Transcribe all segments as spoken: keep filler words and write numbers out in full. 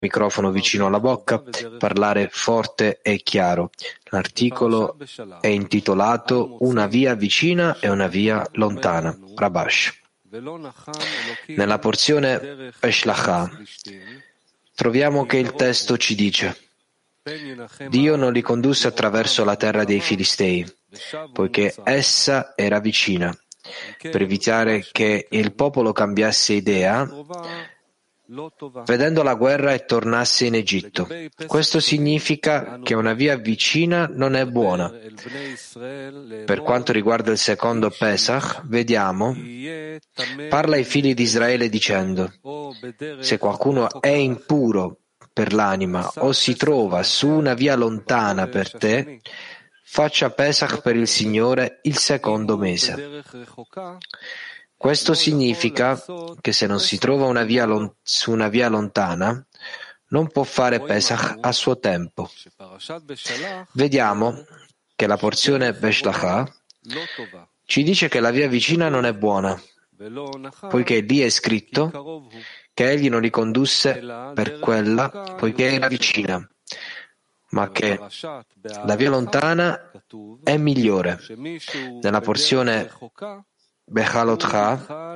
microfono vicino alla bocca, parlare forte e chiaro. L'articolo è intitolato Una via vicina e una via lontana. Rabash. Nella porzione Eshlachah troviamo che il testo ci dice: Dio non li condusse attraverso la terra dei Filistei, poiché essa era vicina, per evitare che il popolo cambiasse idea, vedendo la guerra e tornasse in Egitto. Questo significa che una via vicina non è buona. Per quanto riguarda il secondo Pesach, vediamo, parla ai figli di Israele dicendo: se qualcuno è impuro per l'anima o si trova su una via lontana per te, faccia Pesach per il Signore il secondo mese. Questo significa che se non si trova una via lon- su una via lontana, non può fare Pesach a suo tempo. Vediamo che la porzione Beshlachah ci dice che la via vicina non è buona, poiché lì è scritto che egli non li condusse per quella, poiché era vicina, ma che la via lontana è migliore. Nella porzione Bechalotcha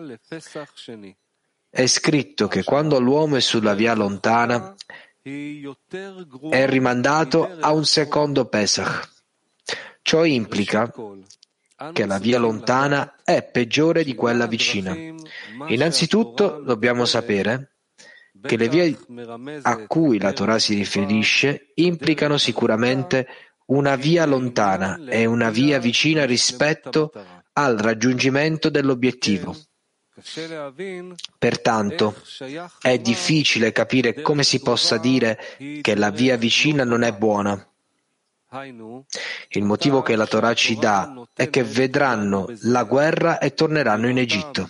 è scritto che quando l'uomo è sulla via lontana è rimandato a un secondo Pesach. Ciò implica che la via lontana è peggiore di quella vicina. Innanzitutto dobbiamo sapere che le vie a cui la Torah si riferisce implicano sicuramente una via lontana e una via vicina rispetto al raggiungimento dell'obiettivo. Pertanto, è difficile capire come si possa dire che la via vicina non è buona. Il motivo che la Torah ci dà è che vedranno la guerra e torneranno in Egitto.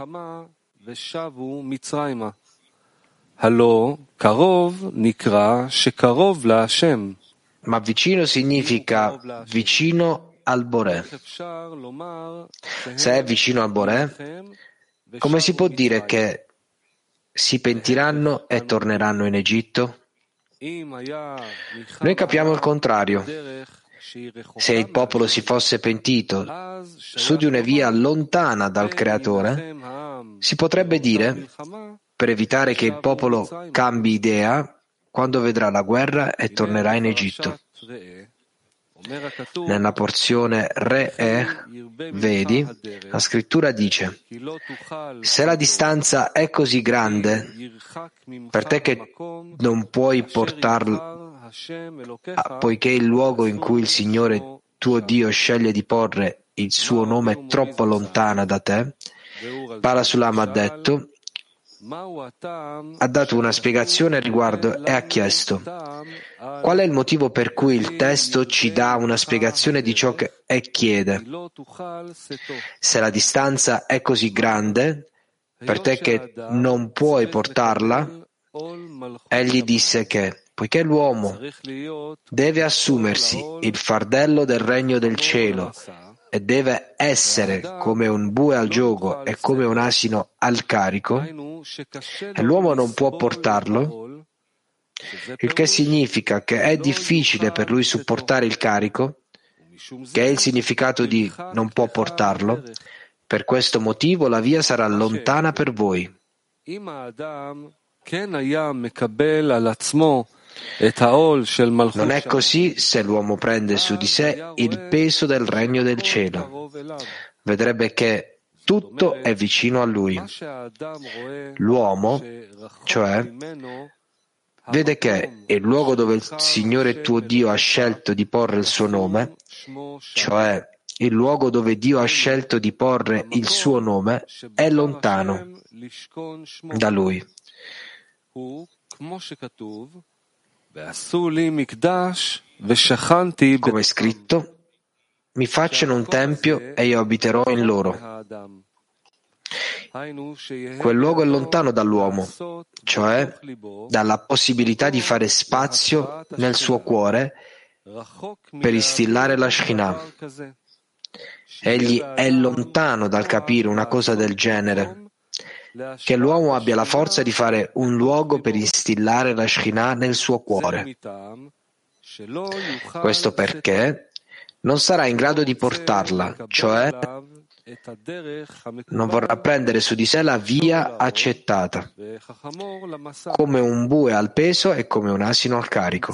Ma vicino significa vicino al Boré. Se è vicino al Boré, come si può dire che si pentiranno e torneranno in Egitto? Noi capiamo il contrario. Se il popolo si fosse pentito su di una via lontana dal Creatore, si potrebbe dire, per evitare che il popolo cambi idea, quando vedrà la guerra e tornerà in Egitto. Nella porzione Re'eh, vedi, la scrittura dice: se la distanza è così grande per te che non puoi portarla, poiché il luogo in cui il Signore tuo Dio sceglie di porre il suo nome è troppo lontana da te, Parasulam ha detto, ha dato una spiegazione al riguardo e ha chiesto: qual è il motivo per cui il testo ci dà una spiegazione di ciò che e chiede? Se la distanza è così grande per te che non puoi portarla, egli disse che, poiché l'uomo deve assumersi il fardello del regno del cielo e deve essere come un bue al giogo e come un asino al carico, e l'uomo non può portarlo, il che significa che è difficile per lui supportare il carico, che è il significato di non può portarlo. Per questo motivo la via sarà lontana per voi. Non è così se l'uomo prende su di sé il peso del regno del cielo. Vedrebbe che tutto è vicino a lui. L'uomo, cioè, vede che il luogo dove il Signore tuo Dio ha scelto di porre il suo nome, cioè il luogo dove Dio ha scelto di porre il suo nome, è lontano da lui. Come è scritto, mi facciano un tempio e io abiterò in loro. Quel luogo è lontano dall'uomo, cioè dalla possibilità di fare spazio nel suo cuore per instillare la Shekhinah. Egli è lontano dal capire una cosa del genere, che l'uomo abbia la forza di fare un luogo per instillare la Shekhinah nel suo cuore. Questo perché non sarà in grado di portarla, cioè non vorrà prendere su di sé la via accettata, come un bue al peso e come un asino al carico.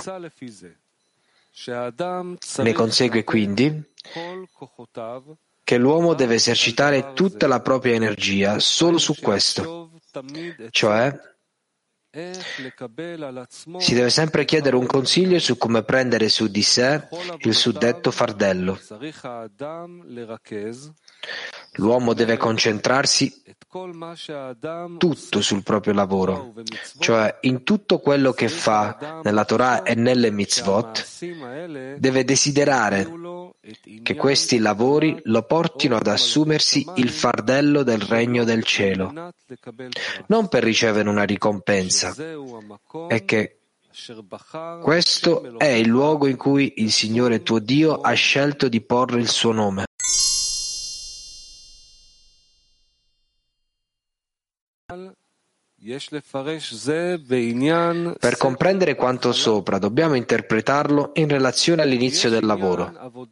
Ne consegue quindi che l'uomo deve esercitare tutta la propria energia solo su questo, cioè si deve sempre chiedere un consiglio su come prendere su di sé il suddetto fardello. L'uomo deve concentrarsi tutto sul proprio lavoro, cioè in tutto quello che fa nella Torah e nelle mitzvot, deve desiderare che questi lavori lo portino ad assumersi il fardello del regno del cielo, non per ricevere una ricompensa, e che questo è il luogo in cui il Signore tuo Dio ha scelto di porre il suo nome. Per comprendere quanto sopra, dobbiamo interpretarlo in relazione all'inizio del lavoro.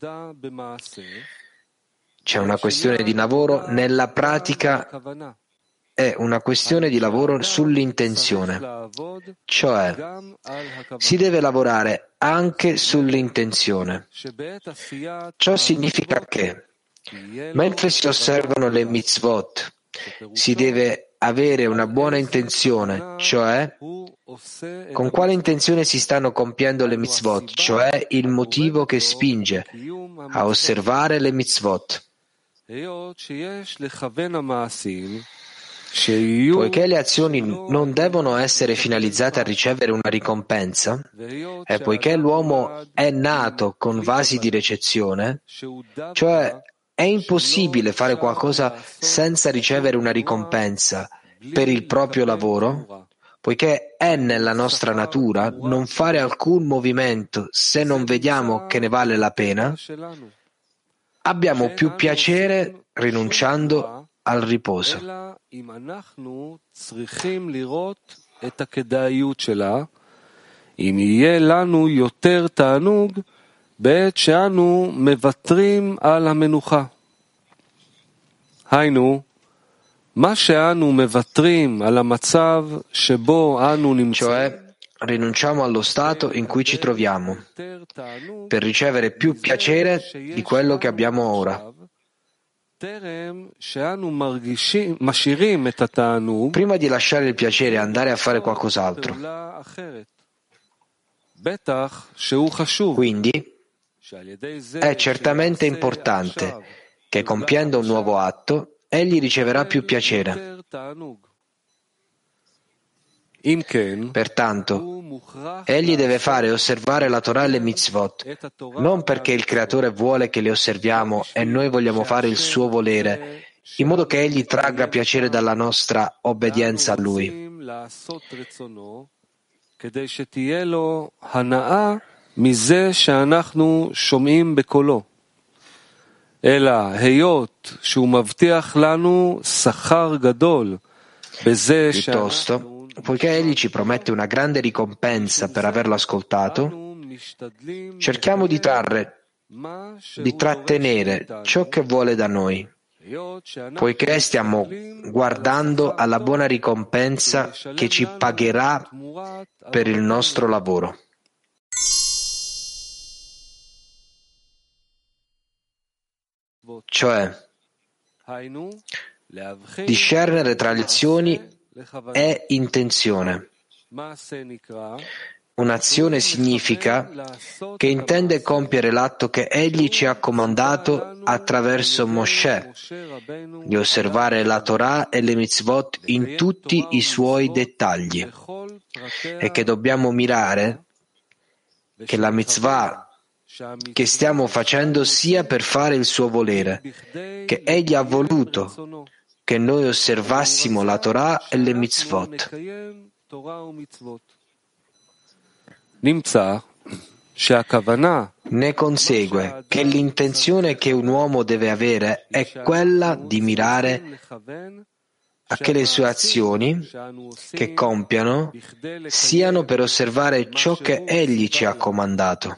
C'è una questione di lavoro nella pratica e una questione di lavoro sull'intenzione, cioè si deve lavorare anche sull'intenzione. Ciò significa che, mentre si osservano le mitzvot, si deve avere una buona intenzione, cioè con quale intenzione si stanno compiendo le mitzvot, cioè il motivo che spinge a osservare le mitzvot. Poiché le azioni non devono essere finalizzate a ricevere una ricompensa, e poiché l'uomo è nato con vasi di ricezione, cioè è impossibile fare qualcosa senza ricevere una ricompensa per il proprio lavoro, poiché è nella nostra natura non fare alcun movimento se non vediamo che ne vale la pena, abbiamo più piacere rinunciando al riposo. בעת שאנו מוותרים על המנוחה. היינו, מה שאנו מוותרים על המצב שבו אנו נמצאים, cioè rinunciamo allo stato in cui ci troviamo per ricevere più piacere di quello che abbiamo ora. Prima di lasciare il piacere e andare a fare qualcos'altro. Quindi è certamente importante che compiendo un nuovo atto, egli riceverà più piacere. Pertanto, egli deve fare osservare la Torah e le mitzvot, non perché il Creatore vuole che le osserviamo e noi vogliamo fare il suo volere, in modo che egli tragga piacere dalla nostra obbedienza a lui. מזה שאנחנו שומעים בקולו, אלא היות שהוא מבטיח לנו שכר גדול בזה Piuttosto, poiché egli ci promette una grande ricompensa per averlo ascoltato, cerchiamo di trarre, di trattenere ciò che vuole da noi, poiché stiamo guardando alla buona ricompensa che ci pagherà per il nostro lavoro. Cioè, discernere tra le azioni è intenzione. Un'azione significa che intende compiere l'atto che egli ci ha comandato attraverso Moshe, di osservare la Torah e le mitzvot in tutti i suoi dettagli, e che dobbiamo mirare che la mitzvah che stiamo facendo sia per fare il suo volere, che egli ha voluto che noi osservassimo la Torah e le mitzvot. Ne consegue che l'intenzione che un uomo deve avere è quella di mirare a che le sue azioni che compiano siano per osservare ciò che Egli ci ha comandato.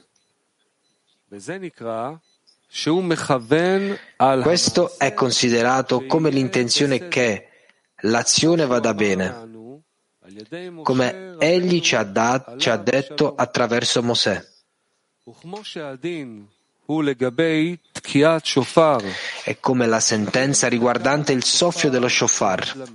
Questo è considerato come l'intenzione che l'azione vada bene, come Egli ci ha, dat- ci ha detto attraverso Mosè. È come la sentenza riguardante il soffio dello shofar,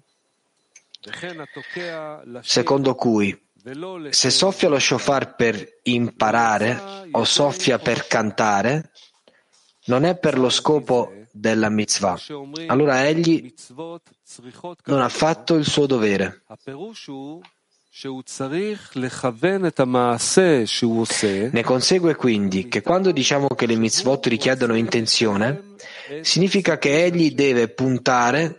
secondo cui se soffia lo shofar per imparare o soffia per cantare, non è per lo scopo della mitzvah. Allora egli non ha fatto il suo dovere. Ne consegue quindi che quando diciamo che le mitzvot richiedono intenzione, significa che egli deve puntare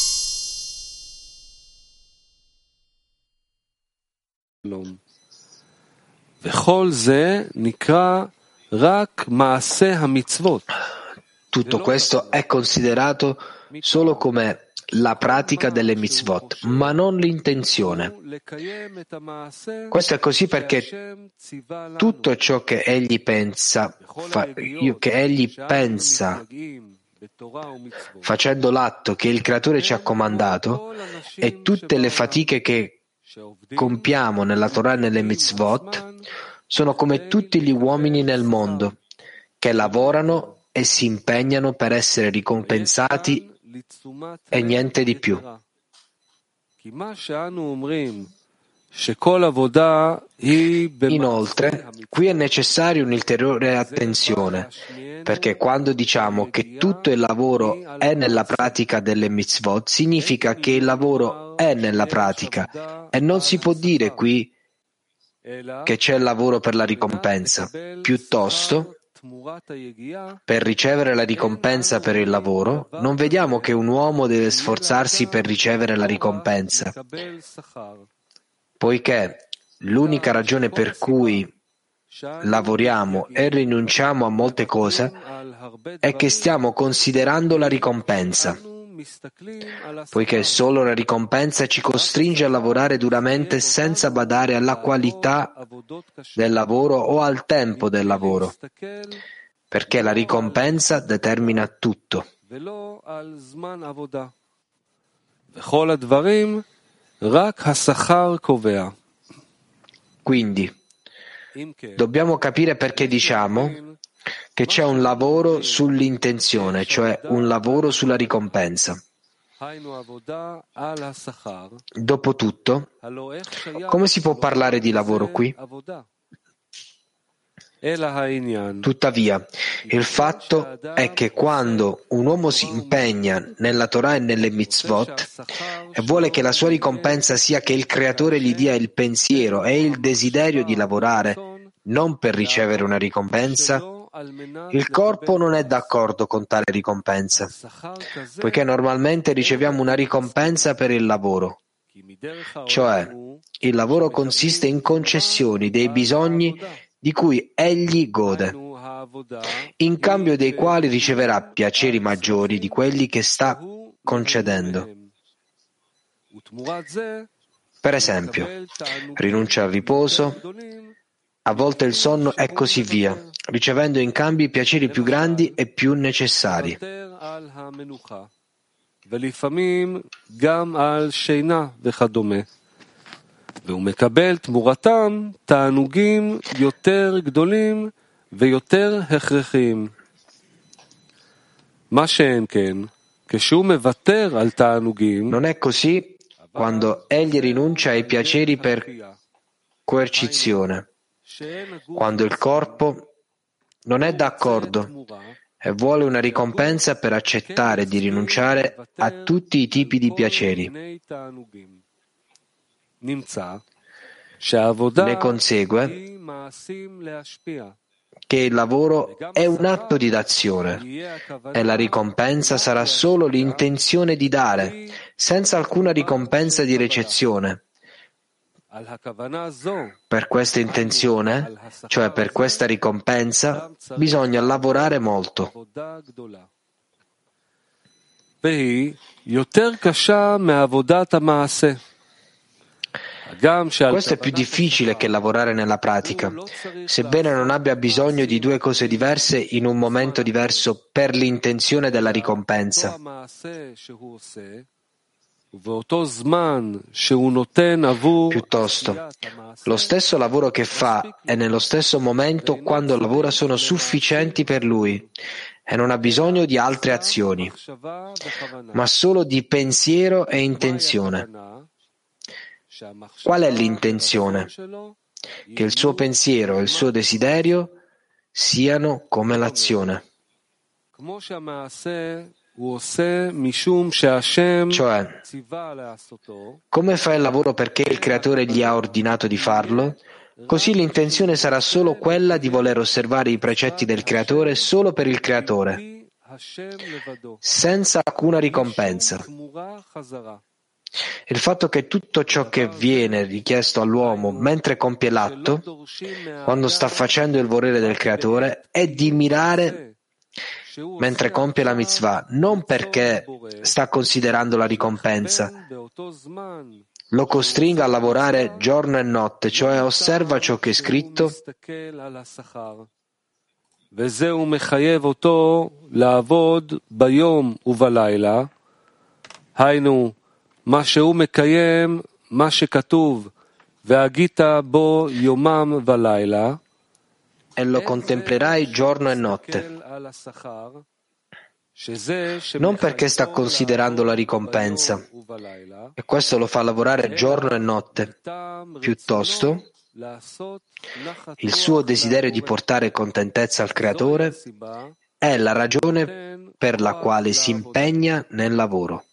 tutto questo è considerato solo come la pratica delle mitzvot, ma non l'intenzione. Questo è così perché tutto ciò che egli pensa, fa, che egli pensa facendo l'atto che il Creatore ci ha comandato e tutte le fatiche che compiamo nella Torah e nelle mitzvot sono come tutti gli uomini nel mondo che lavorano e si impegnano per essere ricompensati e niente di più. Inoltre, qui è necessaria un'ulteriore attenzione, perché quando diciamo che tutto il lavoro è nella pratica delle mitzvot, significa che il lavoro è nella pratica e non si può dire qui che c'è il lavoro per la ricompensa. Piuttosto, per ricevere la ricompensa per il lavoro, non vediamo che un uomo deve sforzarsi per ricevere la ricompensa, poiché l'unica ragione per cui lavoriamo e rinunciamo a molte cose è che stiamo considerando la ricompensa, poiché solo la ricompensa ci costringe a lavorare duramente senza badare alla qualità del lavoro o al tempo del lavoro, perché la ricompensa determina tutto. Quindi, dobbiamo capire perché diciamo che c'è un lavoro sull'intenzione, cioè un lavoro sulla ricompensa. Dopotutto, come si può parlare di lavoro qui? Tuttavia, il fatto è che quando un uomo si impegna nella Torah e nelle mitzvot e vuole che la sua ricompensa sia che il Creatore gli dia il pensiero e il desiderio di lavorare, non per ricevere una ricompensa, il corpo non è d'accordo con tale ricompensa, poiché normalmente riceviamo una ricompensa per il lavoro. Cioè, il lavoro consiste in concessioni dei bisogni di cui egli gode, in cambio dei quali riceverà piaceri maggiori di quelli che sta concedendo. Per esempio, rinuncia al riposo, a volte il sonno e così via, ricevendo in cambio i piaceri più grandi e più necessari. והוא מקבל תמורתם תענוגים יותר גדולים ויותר הכרחיים. מה שאין כן, כשהוא מוותר על תענוגים, non è così quando egli rinuncia ai piaceri per coercizione, quando il corpo non è d'accordo e vuole una ricompensa per accettare di rinunciare a tutti i tipi di piaceri. Ne consegue che il lavoro è un atto di dazione e la ricompensa sarà solo l'intenzione di dare, senza alcuna ricompensa di ricezione. Per questa intenzione, cioè per questa ricompensa, bisogna lavorare molto. Questo è più difficile che lavorare nella pratica, sebbene non abbia bisogno di due cose diverse in un momento diverso per l'intenzione della ricompensa. Piuttosto, lo stesso lavoro che fa e nello stesso momento quando lavora sono sufficienti per lui e non ha bisogno di altre azioni, ma solo di pensiero e intenzione. Qual è l'intenzione? Che il suo pensiero e il suo desiderio siano come l'azione. Cioè, come fa il lavoro perché il Creatore gli ha ordinato di farlo, così l'intenzione sarà solo quella di voler osservare i precetti del Creatore solo per il Creatore, senza alcuna ricompensa. Il fatto che tutto ciò che viene richiesto all'uomo mentre compie l'atto, quando sta facendo il volere del Creatore, è di mirare mentre compie la mitzvah, non perché sta considerando la ricompensa, lo costringa a lavorare giorno e notte, cioè osserva ciò che è scritto מה שהוא מקיים, מה שכתוב, והגית בו יומם ולילה, e lo contemplerai giorno e notte, non perché sta considerando la ricompensa, e questo lo fa lavorare giorno e notte, piuttosto il suo desiderio di portare contentezza al Creatore è la ragione per la quale si impegna nel lavoro.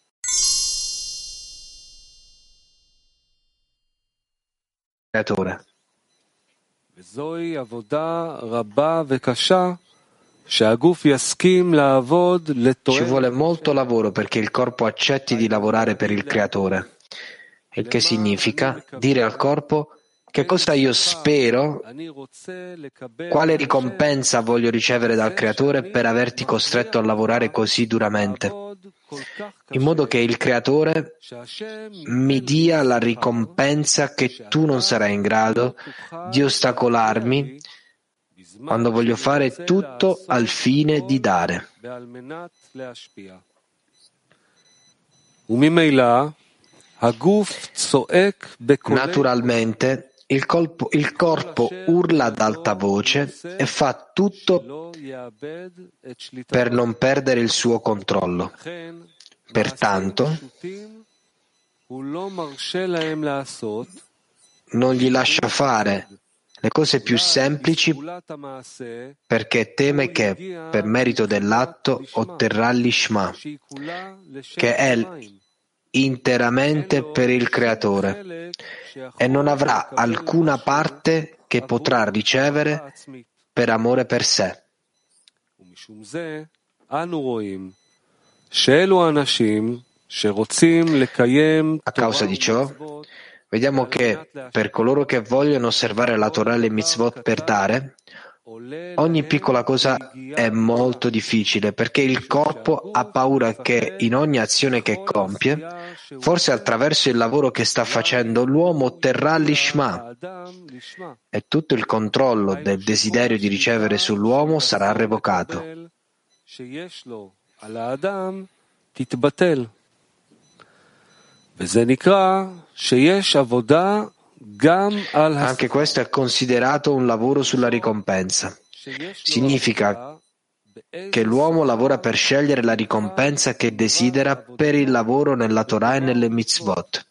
Creatore. Ci vuole molto lavoro perché il corpo accetti di lavorare per il Creatore, il che significa dire al corpo che cosa io spero, quale ricompensa voglio ricevere dal Creatore per averti costretto a lavorare così duramente, in modo che il Creatore mi dia la ricompensa che tu non sarai in grado di ostacolarmi quando voglio fare tutto al fine di dare. Naturalmente, il, colpo, il corpo urla ad alta voce e fa tutto per non perdere il suo controllo. Pertanto, non gli lascia fare le cose più semplici perché teme che, per merito dell'atto, otterrà l'Ishma, che è interamente per il Creatore, e non avrà alcuna parte che potrà ricevere per amore per sé. A causa di ciò, vediamo che per coloro che vogliono osservare la Torah e le mitzvot per dare, ogni piccola cosa è molto difficile perché il corpo ha paura che in ogni azione che compie, forse attraverso il lavoro che sta facendo, l'uomo otterrà l'Ishma e tutto il controllo del desiderio di ricevere sull'uomo sarà revocato. Anche questo è considerato un lavoro sulla ricompensa. Significa che l'uomo lavora per scegliere la ricompensa che desidera per il lavoro nella Torah e nelle mitzvot.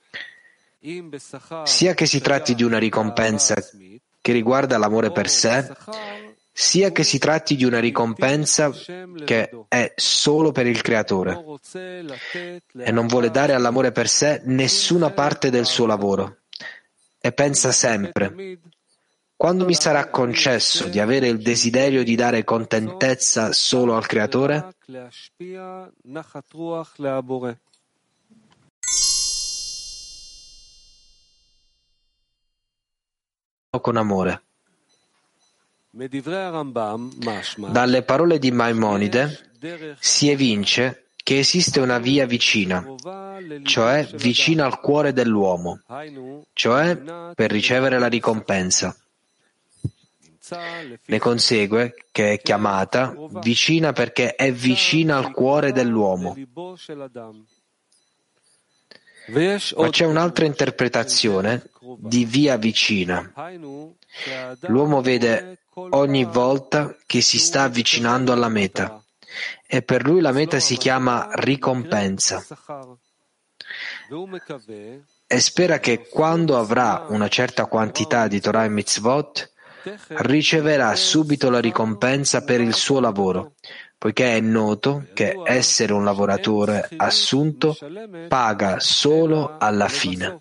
Sia che si tratti di una ricompensa che riguarda l'amore per sé, sia che si tratti di una ricompensa che è solo per il Creatore e non vuole dare all'amore per sé nessuna parte del suo lavoro e pensa sempre: quando mi sarà concesso di avere il desiderio di dare contentezza solo al Creatore? Con amore. Dalle parole di Maimonide si evince che esiste una via vicina, cioè vicina al cuore dell'uomo, cioè per ricevere la ricompensa. Ne consegue che è chiamata vicina perché è vicina al cuore dell'uomo. Ma c'è un'altra interpretazione di via vicina. L'uomo vede ogni volta che si sta avvicinando alla meta e per lui la meta si chiama ricompensa e spera che quando avrà una certa quantità di Torah e Mitzvot riceverà subito la ricompensa per il suo lavoro, poiché è noto che essere un lavoratore assunto paga solo alla fine.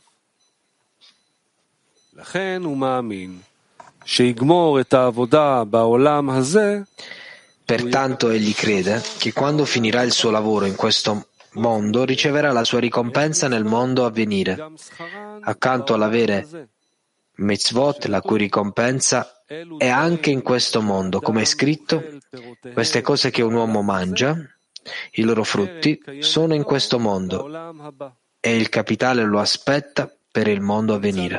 Pertanto egli crede che quando finirà il suo lavoro in questo mondo riceverà la sua ricompensa nel mondo a venire, accanto all'avere mitzvot, la cui ricompensa è anche in questo mondo, come è scritto: queste cose che un uomo mangia, i loro frutti, sono in questo mondo e il capitale lo aspetta per il mondo a venire.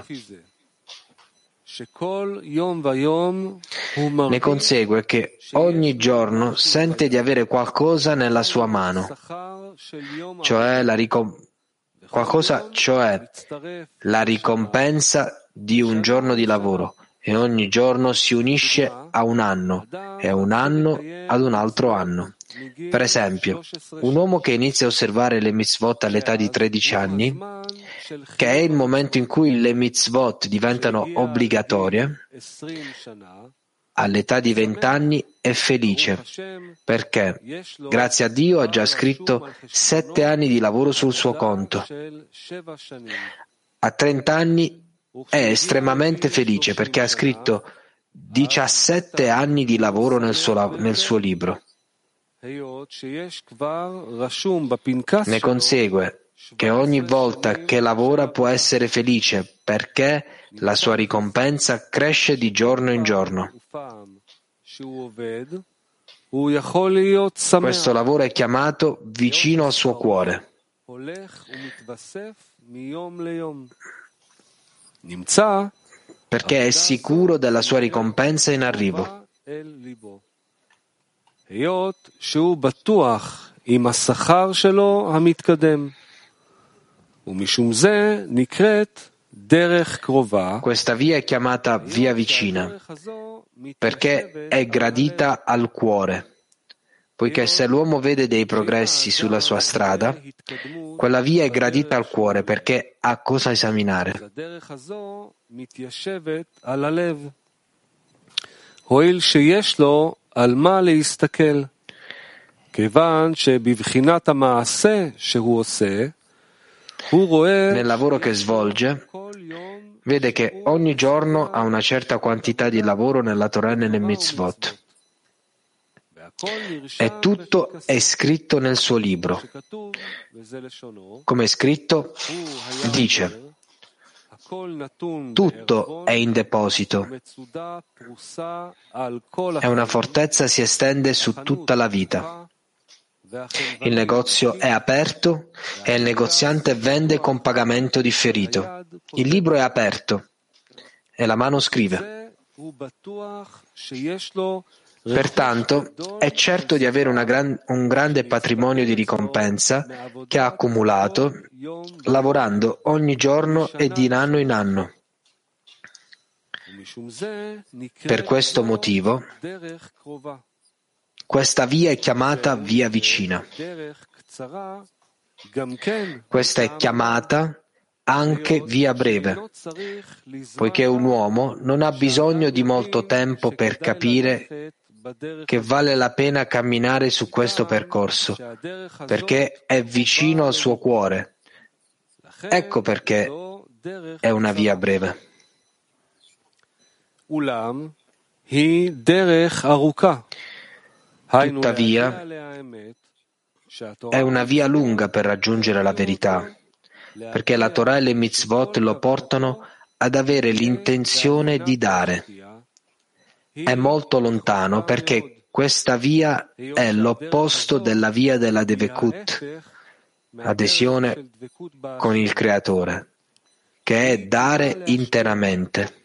Ne consegue che ogni giorno sente di avere qualcosa nella sua mano, cioè la ricom- qualcosa, cioè la ricompensa di un giorno di lavoro, e ogni giorno si unisce a un anno e un anno ad un altro anno. Per esempio, un uomo che inizia a osservare le mitzvot all'età di tredici anni, che è il momento in cui le mitzvot diventano obbligatorie, all'età di venti anni è felice, perché grazie a Dio ha già scritto sette anni di lavoro sul suo conto. A trenta anni è estremamente felice perché ha scritto diciassette anni di lavoro nel suo, nel suo libro. Ne consegue che ogni volta che lavora può essere felice perché la sua ricompensa cresce di giorno in giorno. Questo lavoro è chiamato vicino al suo cuore. Perché è sicuro della sua ricompensa in arrivo. Questa via è chiamata via vicina perché è gradita al cuore, poiché se l'uomo vede dei progressi sulla sua strada, quella via è gradita al cuore perché ha cosa esaminare. Nel lavoro che svolge, vede che ogni giorno ha una certa quantità di lavoro nella Torah e nelle mitzvot. E tutto è scritto nel suo libro. Come è scritto, dice: tutto è in deposito e una fortezza si estende su tutta la vita. Il negozio è aperto e il negoziante vende con pagamento differito. Il libro è aperto e la mano scrive. Pertanto è certo di avere una gran, un grande patrimonio di ricompensa che ha accumulato lavorando ogni giorno e di anno in anno. Per questo motivo, questa via è chiamata via vicina. Questa è chiamata anche via breve, poiché un uomo non ha bisogno di molto tempo per capire che vale la pena camminare su questo percorso, perché è vicino al suo cuore. Ecco perché è una via breve. Tuttavia, è una via lunga per raggiungere la verità, perché la Torah e le mitzvot lo portano ad avere l'intenzione di dare. È molto lontano perché Questa via è l'opposto della via della Devekut, adesione con il Creatore, che è dare interamente.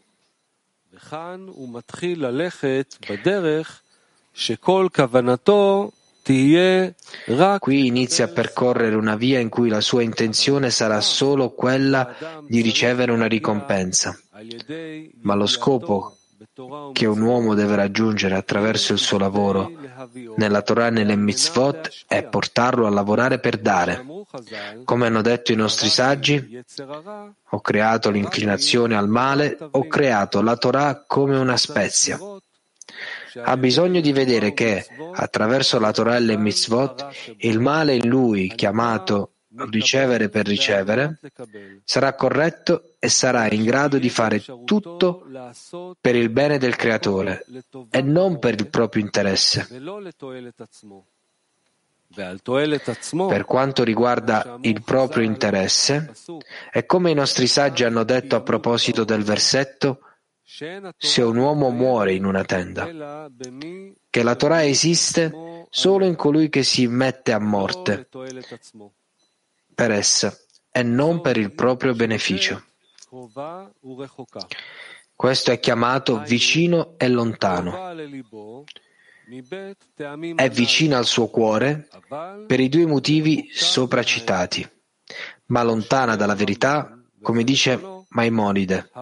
Qui inizia a percorrere una via in cui la sua intenzione sarà solo quella di ricevere una ricompensa, ma lo scopo che un uomo deve raggiungere attraverso il suo lavoro nella Torah e nelle mitzvot è portarlo a lavorare per dare. Come hanno detto i nostri saggi, ho creato l'inclinazione al male, ho creato la Torah come una spezia. Ha bisogno di vedere che, attraverso la Torah e le mitzvot, il male in lui, chiamato ricevere per ricevere, sarà corretto e sarà in grado di fare tutto per il bene del Creatore e non per il proprio interesse. Per quanto riguarda il proprio interesse, è come i nostri saggi hanno detto a proposito del versetto: se un uomo muore in una tenda, che la Torah esiste solo in colui che si mette a morte per essa e non per il proprio beneficio. Questo è chiamato vicino e lontano. È vicina al suo cuore per i due motivi sopra citati, ma lontana dalla verità, come dice Maimonide.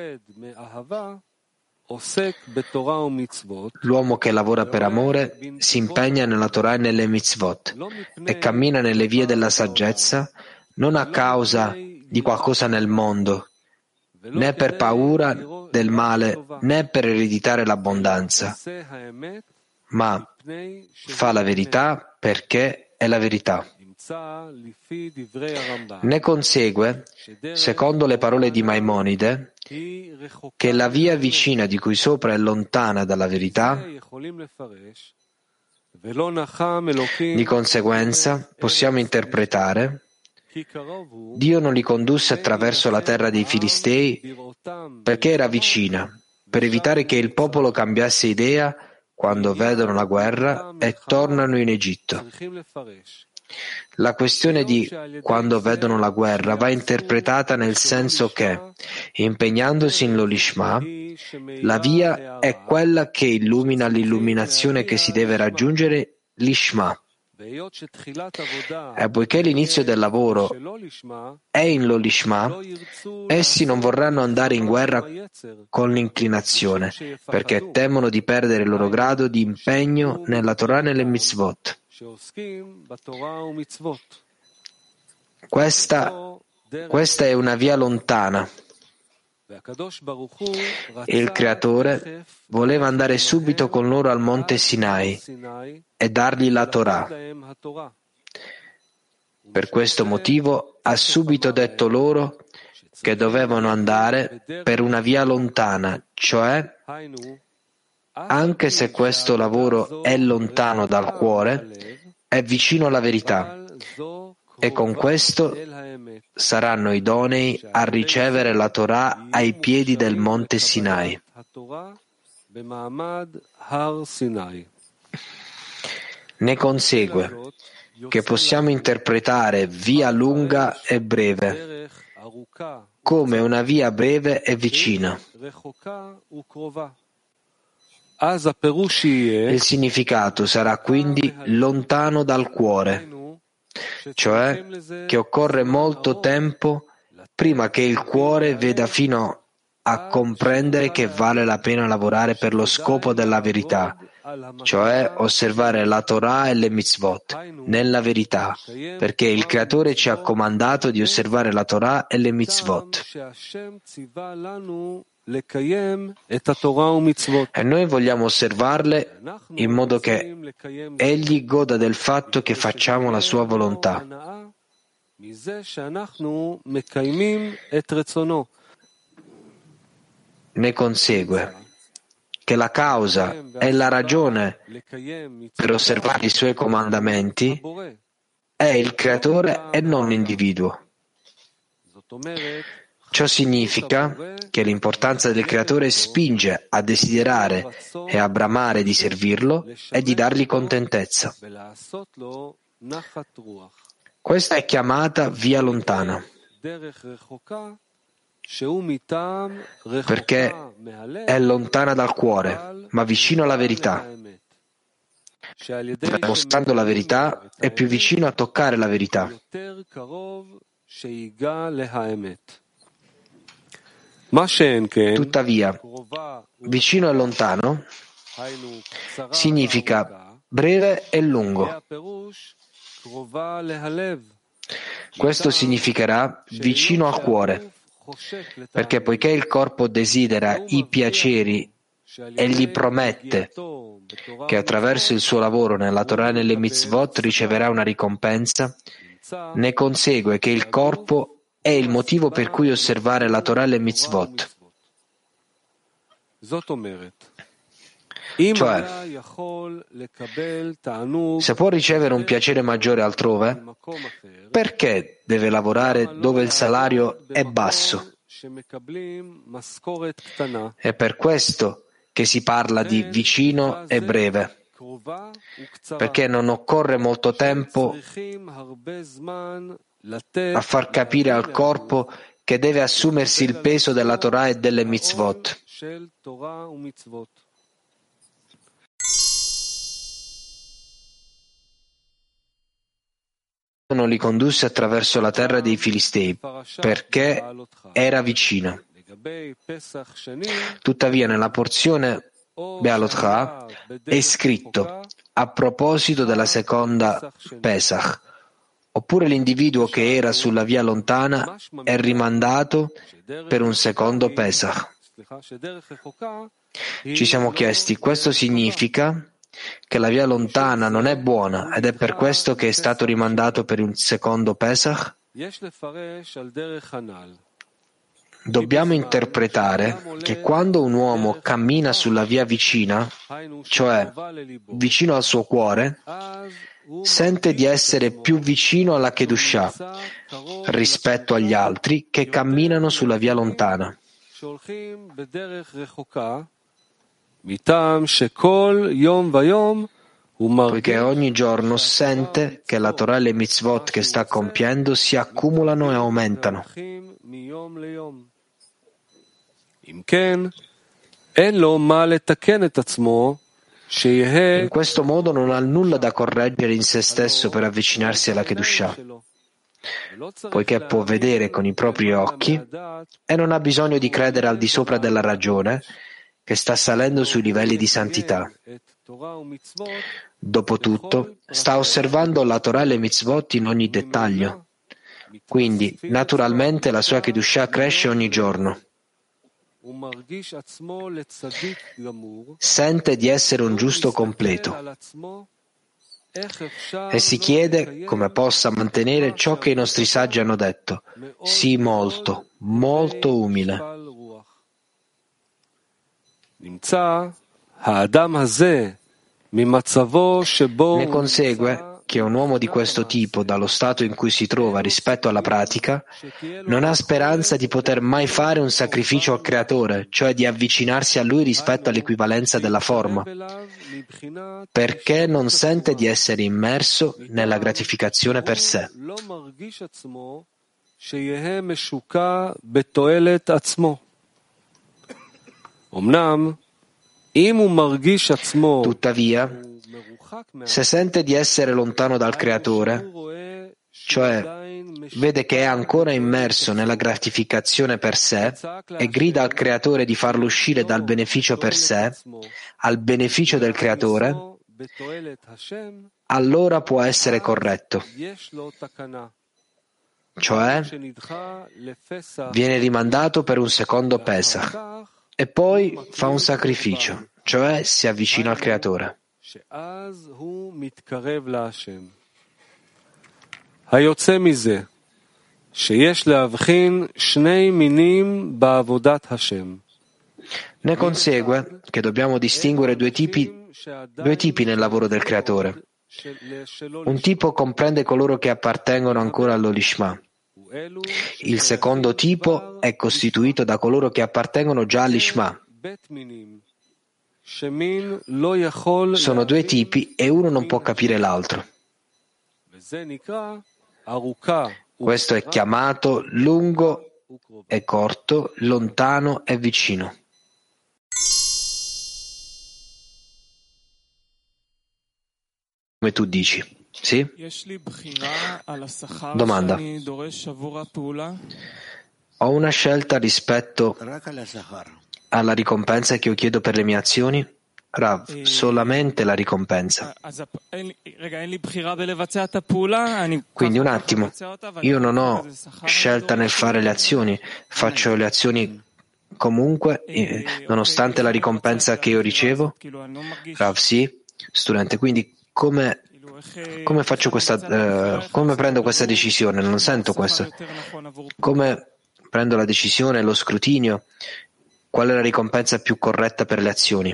L'uomo che lavora per amore si impegna nella Torah e nelle mitzvot e cammina nelle vie della saggezza non a causa di qualcosa nel mondo, né per paura del male, né per ereditare l'abbondanza, ma fa la verità perché è la verità. Ne consegue, secondo le parole di Maimonide, che la via vicina di cui sopra è lontana dalla verità. Di conseguenza, possiamo interpretare: Dio non li condusse attraverso la terra dei Filistei perché era vicina, per evitare che il popolo cambiasse idea quando vedono la guerra e tornano in Egitto. La questione di quando vedono la guerra va interpretata nel senso che, impegnandosi in l'Olishma, la via è quella che illumina l'illuminazione che si deve raggiungere, l'Ishma. E poiché l'inizio del lavoro è in l'Olishma, essi non vorranno andare in guerra con l'inclinazione, perché temono di perdere il loro grado di impegno nella Torah e nelle mitzvot. Questa, questa è una via lontana. Il Creatore voleva andare subito con loro al monte Sinai e dargli la Torah. Per questo motivo ha subito detto loro che dovevano andare per una via lontana, cioè, anche se questo lavoro è lontano dal cuore, è vicino alla verità, e con questo saranno idonei a ricevere la Torah ai piedi del monte Sinai. Ne consegue che possiamo interpretare via lunga e breve come una via breve e vicina. Il significato sarà quindi lontano dal cuore, cioè che occorre molto tempo prima che il cuore veda fino a comprendere che vale la pena lavorare per lo scopo della verità, cioè osservare la Torah e le mitzvot nella verità, perché il Creatore ci ha comandato di osservare la Torah e le mitzvot. E noi vogliamo osservarle in modo che Egli goda del fatto che facciamo la sua volontà. Ne consegue che la causa e la ragione per osservare i suoi comandamenti è il Creatore e non l'individuo. Ciò significa che l'importanza del Creatore spinge a desiderare e a bramare di servirlo e di dargli contentezza. Questa è chiamata via lontana, perché è lontana dal cuore, ma vicino alla verità. Mostrando la verità, è più vicino a toccare la verità. Tuttavia, vicino e lontano significa breve e lungo. Questo significherà vicino al cuore, perché poiché il corpo desidera i piaceri e gli promette che attraverso il suo lavoro nella Torah e nelle mitzvot riceverà una ricompensa, ne consegue che il corpo è il motivo per cui osservare la Torah e le mitzvot. Cioè, se può ricevere un piacere maggiore altrove, perché deve lavorare dove il salario è basso? È per questo che si parla di vicino e breve, perché non occorre molto tempo a far capire al corpo che deve assumersi il peso della Torah e delle mitzvot. Non li condusse attraverso la terra dei Filistei, perché era vicino. Tuttavia, nella porzione Be'alotcha è scritto a proposito della seconda Pesach, oppure l'individuo che era sulla via lontana è rimandato per un secondo Pesach. Ci siamo chiesti, questo significa che la via lontana non è buona ed è per questo che è stato rimandato per un secondo Pesach? Dobbiamo interpretare che quando un uomo cammina sulla via vicina, cioè vicino al suo cuore, sente di essere più vicino alla Kedushah rispetto agli altri che camminano sulla via lontana. Poiché ogni giorno sente che la Torah e le mitzvot che sta compiendo si accumulano e aumentano. In questo modo non ha nulla da correggere in se stesso per avvicinarsi alla Kedushah, poiché può vedere con i propri occhi e non ha bisogno di credere al di sopra della ragione che sta salendo sui livelli di santità. Dopotutto, sta osservando la Torah e le mitzvot in ogni dettaglio. Quindi, naturalmente, la sua Kedushah cresce ogni giorno. Sente di essere un giusto completo e si chiede come possa mantenere ciò che i nostri saggi hanno detto: sii molto, molto umile. Ne consegue che un uomo di questo tipo, dallo stato in cui si trova rispetto alla pratica, non ha speranza di poter mai fare un sacrificio al Creatore, cioè di avvicinarsi a Lui rispetto all'equivalenza della forma, perché non sente di essere immerso nella gratificazione per sé. Tuttavia, se sente di essere lontano dal Creatore, cioè vede che è ancora immerso nella gratificazione per sé e grida al Creatore di farlo uscire dal beneficio per sé al beneficio del Creatore, allora può essere corretto. Cioè, viene rimandato per un secondo Pesach e poi fa un sacrificio, cioè si avvicina al Creatore. Ne consegue che dobbiamo distinguere due tipi, due tipi nel lavoro del Creatore. Un tipo comprende coloro che appartengono ancora all'Olishma, Il secondo tipo è costituito da coloro che appartengono già all'Ishma. Sono due tipi e uno non può capire l'altro. Questo è chiamato lungo e corto, lontano e vicino. Come tu dici, sì? Domanda. Ho una scelta rispetto alla ricompensa che io chiedo per le mie azioni? Rav, solamente la ricompensa. Quindi un attimo, io non ho scelta nel fare le azioni, faccio le azioni comunque, eh, nonostante la ricompensa che io ricevo? Rav, sì, studente, quindi come, come faccio questa, eh, come prendo questa decisione? Non sento questo. Come prendo la decisione, lo scrutinio? Qual è la ricompensa più corretta per le azioni?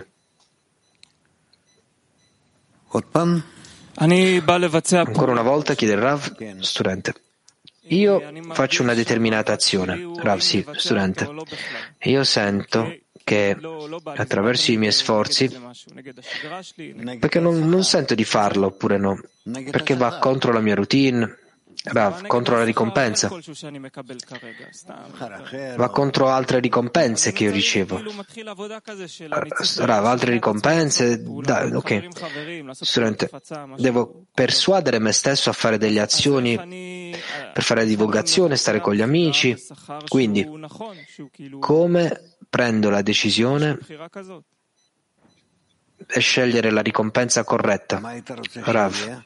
Ancora una volta chiede il Rav, studente. Io faccio una determinata azione. Rav, sì, studente. Io sento che attraverso i miei sforzi, perché non, non sento di farlo oppure no, perché va contro la mia routine, Rav, contro la ricompensa, va contro altre ricompense che io ricevo. Rav, altre ricompense, dai, ok. Studente, devo persuadere me stesso a fare delle azioni per fare divulgazione, stare con gli amici. Quindi, come prendo la decisione e scegliere la ricompensa corretta? Rav,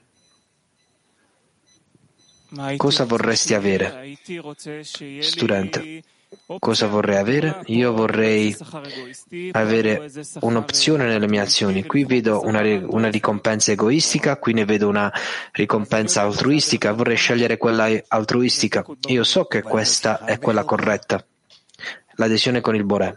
cosa vorresti avere? Studente, cosa vorrei avere? Io vorrei avere un'opzione nelle mie azioni. Qui vedo una, una ricompensa egoistica, qui ne vedo una ricompensa altruistica. Vorrei scegliere quella altruistica. Io so che questa è quella corretta. L'adesione con il Boré.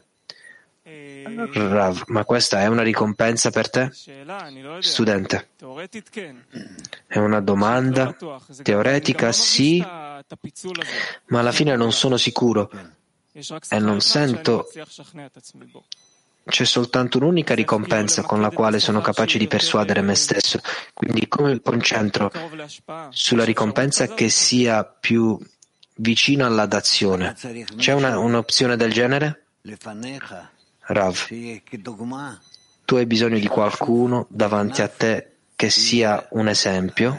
Rav, ma questa è una ricompensa per te? Studente, è una domanda teoretica, sì, ma alla fine non sono sicuro e non sento. C'è soltanto un'unica ricompensa con la quale sono capace di persuadere me stesso. Quindi come mi concentro sulla ricompensa che sia più vicino alla dazione? C'è una, un'opzione del genere? Rav, tu hai bisogno di qualcuno davanti a te che sia un esempio,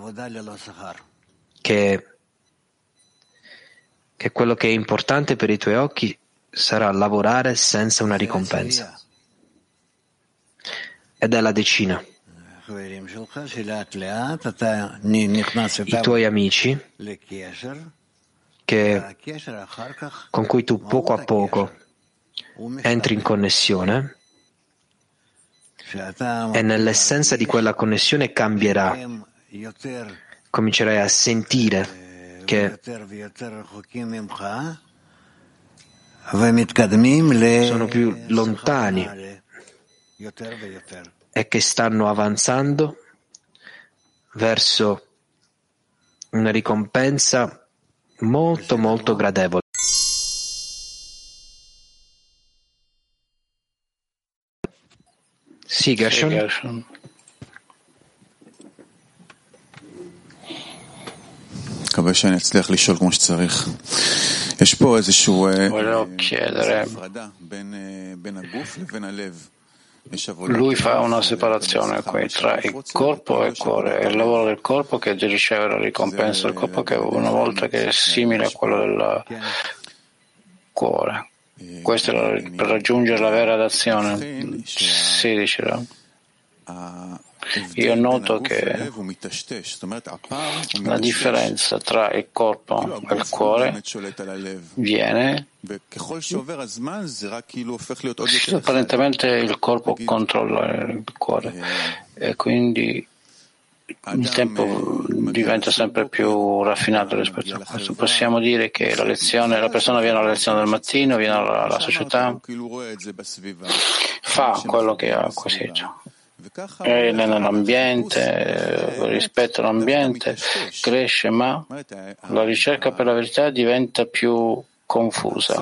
che, che quello che è importante per i tuoi occhi sarà lavorare senza una ricompensa. Ed è la decina. I tuoi amici che, con cui tu poco a poco entri in connessione e nell'essenza di quella connessione cambierà. Comincerai a sentire che sono più lontani e che stanno avanzando verso una ricompensa molto molto gradevole. Sì, Gershon. Volevo chiedere, lui fa una separazione qui tra il corpo e il cuore, è il lavoro del corpo che riceve la ricompensa del corpo, che una volta che è simile a quello del cuore. Questo è per raggiungere la vera dazione. Sì, diceva. Io noto che la differenza tra il corpo e il cuore viene, apparentemente il corpo controlla il cuore e quindi il tempo diventa sempre più raffinato rispetto a questo. Possiamo dire che la lezione, la persona viene alla lezione del mattino, viene alla, alla società, fa quello che ha acquisito è nell'ambiente, rispetto all'ambiente, cresce, ma la ricerca per la verità diventa più confusa.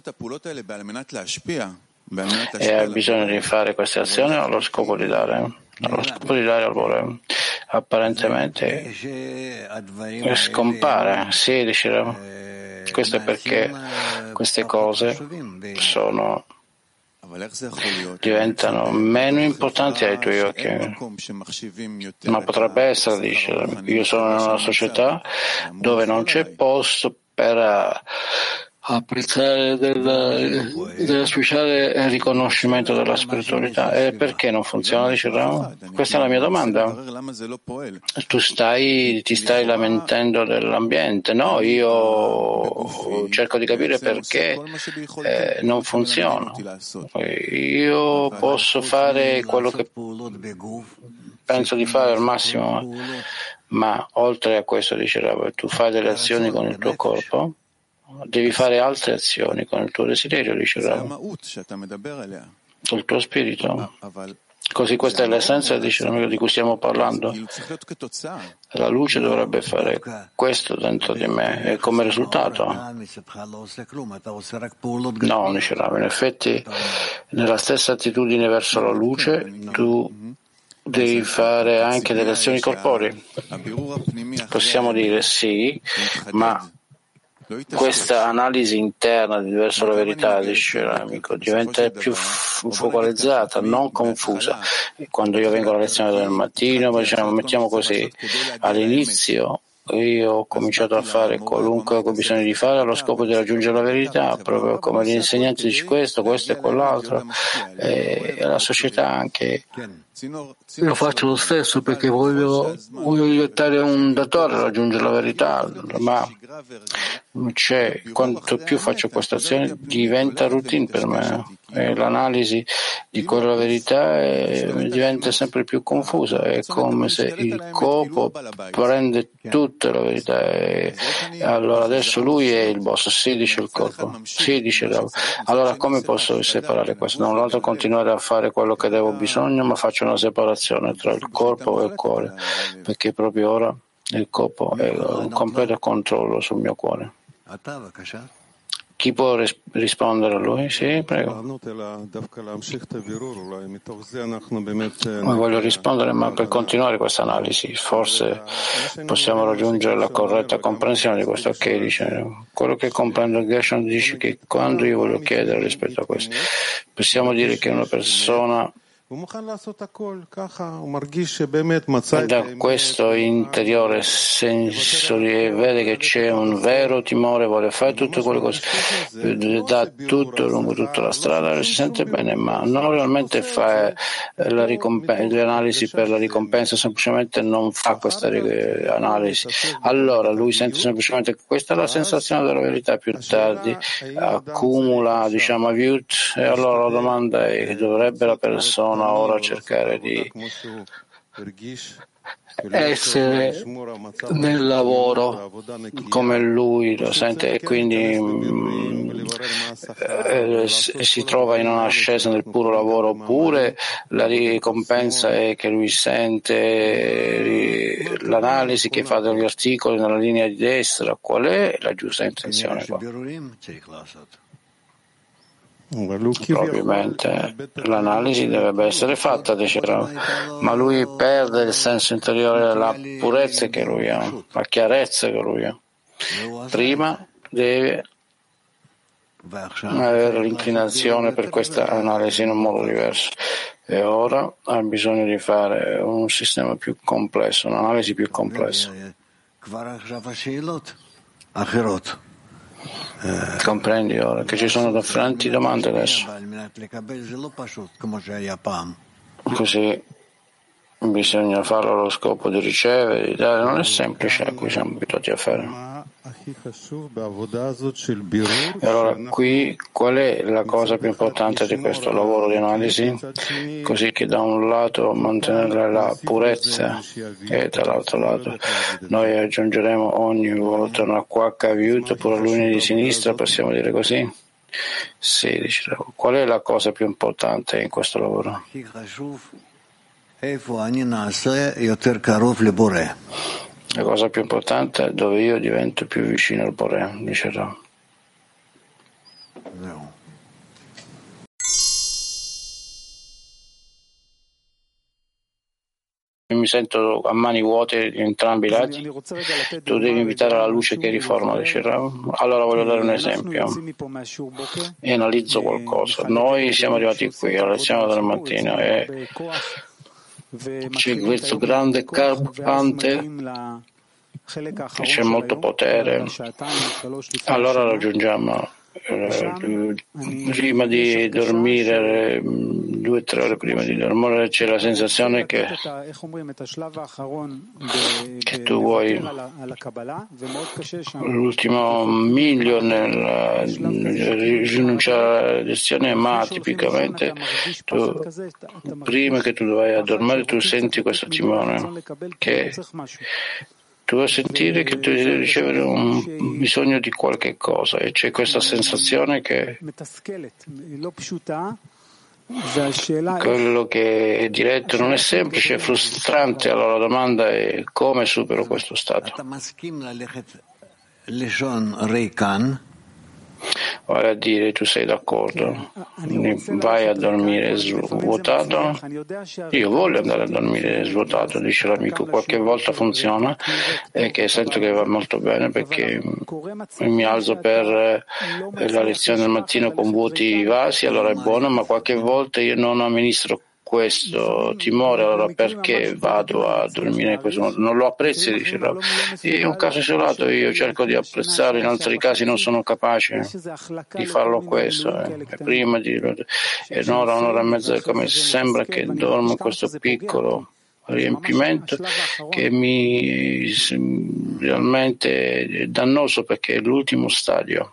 E ha bisogno di fare queste azioni allo scopo di dare, allo scopo di dare al volere. Apparentemente scompare, sì, dice. Questo è perché queste cose sono, diventano meno importanti ai tuoi occhi. Ma potrebbe essere, dice, io sono in una società dove non c'è posto per apprezzare del, del speciale riconoscimento della spiritualità. E perché non funziona, dice Rama? Questa è la mia domanda. Tu stai, ti stai lamentando dell'ambiente? No, io cerco di capire perché eh, non funziona. Io posso fare quello che penso di fare al massimo, ma oltre a questo, dice Rama, tu fai delle azioni con il tuo corpo, devi fare altre azioni con il tuo desiderio, dice Rama, il tuo spirito. Così questa è l'essenza, dice l'amico, di cui stiamo parlando. La luce dovrebbe fare questo dentro di me e come risultato no, dice Rama, in effetti nella stessa attitudine verso la luce tu devi fare anche delle azioni corporee. Possiamo dire sì, ma questa analisi interna verso la verità, dice l'amico, diventa più focalizzata, non confusa. Quando io vengo alla lezione del mattino, diciamo, mettiamo così, all'inizio io ho cominciato a fare qualunque ho bisogno di fare allo scopo di raggiungere la verità, proprio come l'insegnante dice questo, questo e quell'altro, e la società anche. Io faccio lo stesso perché voglio, voglio diventare un datore a raggiungere la verità, ma c'è, quanto più faccio questa azione diventa routine per me e l'analisi di quella verità è, diventa sempre più confusa, è come se il corpo prende tutta la verità e allora adesso lui è il boss, sì, dice il corpo, sì, dice l'altro. Allora come posso separare questo? Da un lato continuare a fare quello che devo bisogno, ma faccio una separazione tra il corpo e il cuore, perché proprio ora il corpo è un completo controllo sul mio cuore. Chi può ris- rispondere a lui? Sì, prego. Voglio rispondere, ma per continuare questa analisi, forse possiamo raggiungere la corretta comprensione di questo. Ok, dice, quello che comprendo Gershon dice che quando io voglio chiedere rispetto a questo, possiamo dire che una persona da questo interiore senso vede che c'è un vero timore, vuole fare tutte quelle cose, dà tutto lungo tutta la strada, si sente bene, ma non realmente fa la ricompensa, le analisi per la ricompensa, semplicemente non fa questa analisi. Allora lui sente semplicemente che questa è la sensazione della verità, più tardi accumula, diciamo, avyut, e allora la domanda è: dovrebbe la persona ora cercare di essere nel lavoro come lui lo sente e quindi mh, eh, si trova in un'ascesa nel puro lavoro, oppure la ricompensa è che lui sente l'analisi che fa degli articoli nella linea di destra? Qual è la giusta intenzione qua? Probabilmente l'analisi dovrebbe essere fatta, diceva, ma lui perde il senso interiore, la purezza che lui ha, la chiarezza che lui ha. Prima deve avere l'inclinazione per questa analisi in un modo diverso e ora ha bisogno di fare un sistema più complesso, un'analisi più complessa. Comprendi ora che ci sono differenti domande adesso, così bisogna farlo allo scopo di ricevere, di dare, non è semplice a cui siamo abituati a fare. E allora qui qual è la cosa più importante di questo lavoro di analisi? Così che da un lato mantenere la purezza e dall'altro lato noi aggiungeremo ogni volta una quacca aiuto oppure l'unità di sinistra, possiamo dire così? Sì, dicevo. Qual è la cosa più importante in questo lavoro? La cosa più importante è dove io divento più vicino al Boré, dice Rav. Mi sento a mani vuote in entrambi i lati. Tu devi invitare la luce che riforma, dice Rav. Allora voglio dare un esempio e analizzo qualcosa. Noi siamo arrivati qui alla lezione della mattina e c'è questo grande carpante, c'è molto potere. Allora raggiungiamo eh, prima di dormire, due o tre ore prima di dormire, c'è la sensazione che, che tu vuoi l'ultimo miglio nel rinunciare alla lezione, ma tipicamente tu, prima che tu vai a dormire, tu senti questo timore che tu vuoi sentire che tu devi ricevere un bisogno di qualche cosa e c'è questa sensazione che quello che è diretto non è semplice, è frustrante. Allora la domanda è: come supero questo stato? Vale a dire, tu sei d'accordo, vai a dormire svuotato? Io voglio andare a dormire svuotato, dice l'amico. Qualche volta funziona e che sento che va molto bene perché mi alzo per la lezione del mattino con vuoti vasi, allora è buono, ma qualche volta io non amministro questo timore, allora perché vado a dormire in questo modo? Non lo apprezzi, dice Rav. È un caso isolato, io cerco di apprezzarlo, in altri casi non sono capace di farlo questo. Eh. Prima di e un'ora, un'ora e mezza, come sembra che dormo in questo piccolo riempimento che mi realmente è dannoso perché è l'ultimo stadio.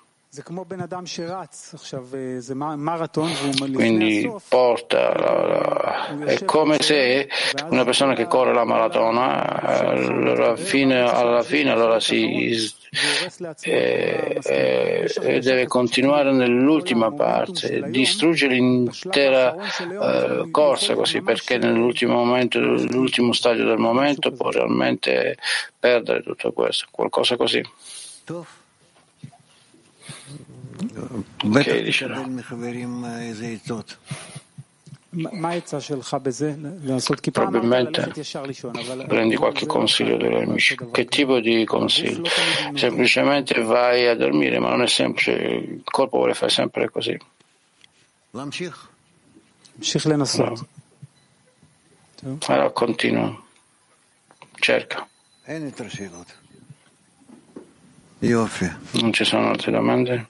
Quindi porta la, la, è come se una persona che corre la maratona allora, fine, alla fine allora si eh, eh, deve continuare nell'ultima parte, distrugge l'intera eh, corsa così, perché nell'ultimo momento, l'ultimo stadio del momento può realmente perdere tutto questo, qualcosa così. Okay, dice probabilmente prendi qualche consiglio degli amici. Che tipo di consiglio? Semplicemente vai a dormire, ma non è semplice, il corpo vuole fare sempre così. No. Allora continua, cerca. Non ci sono altre domande?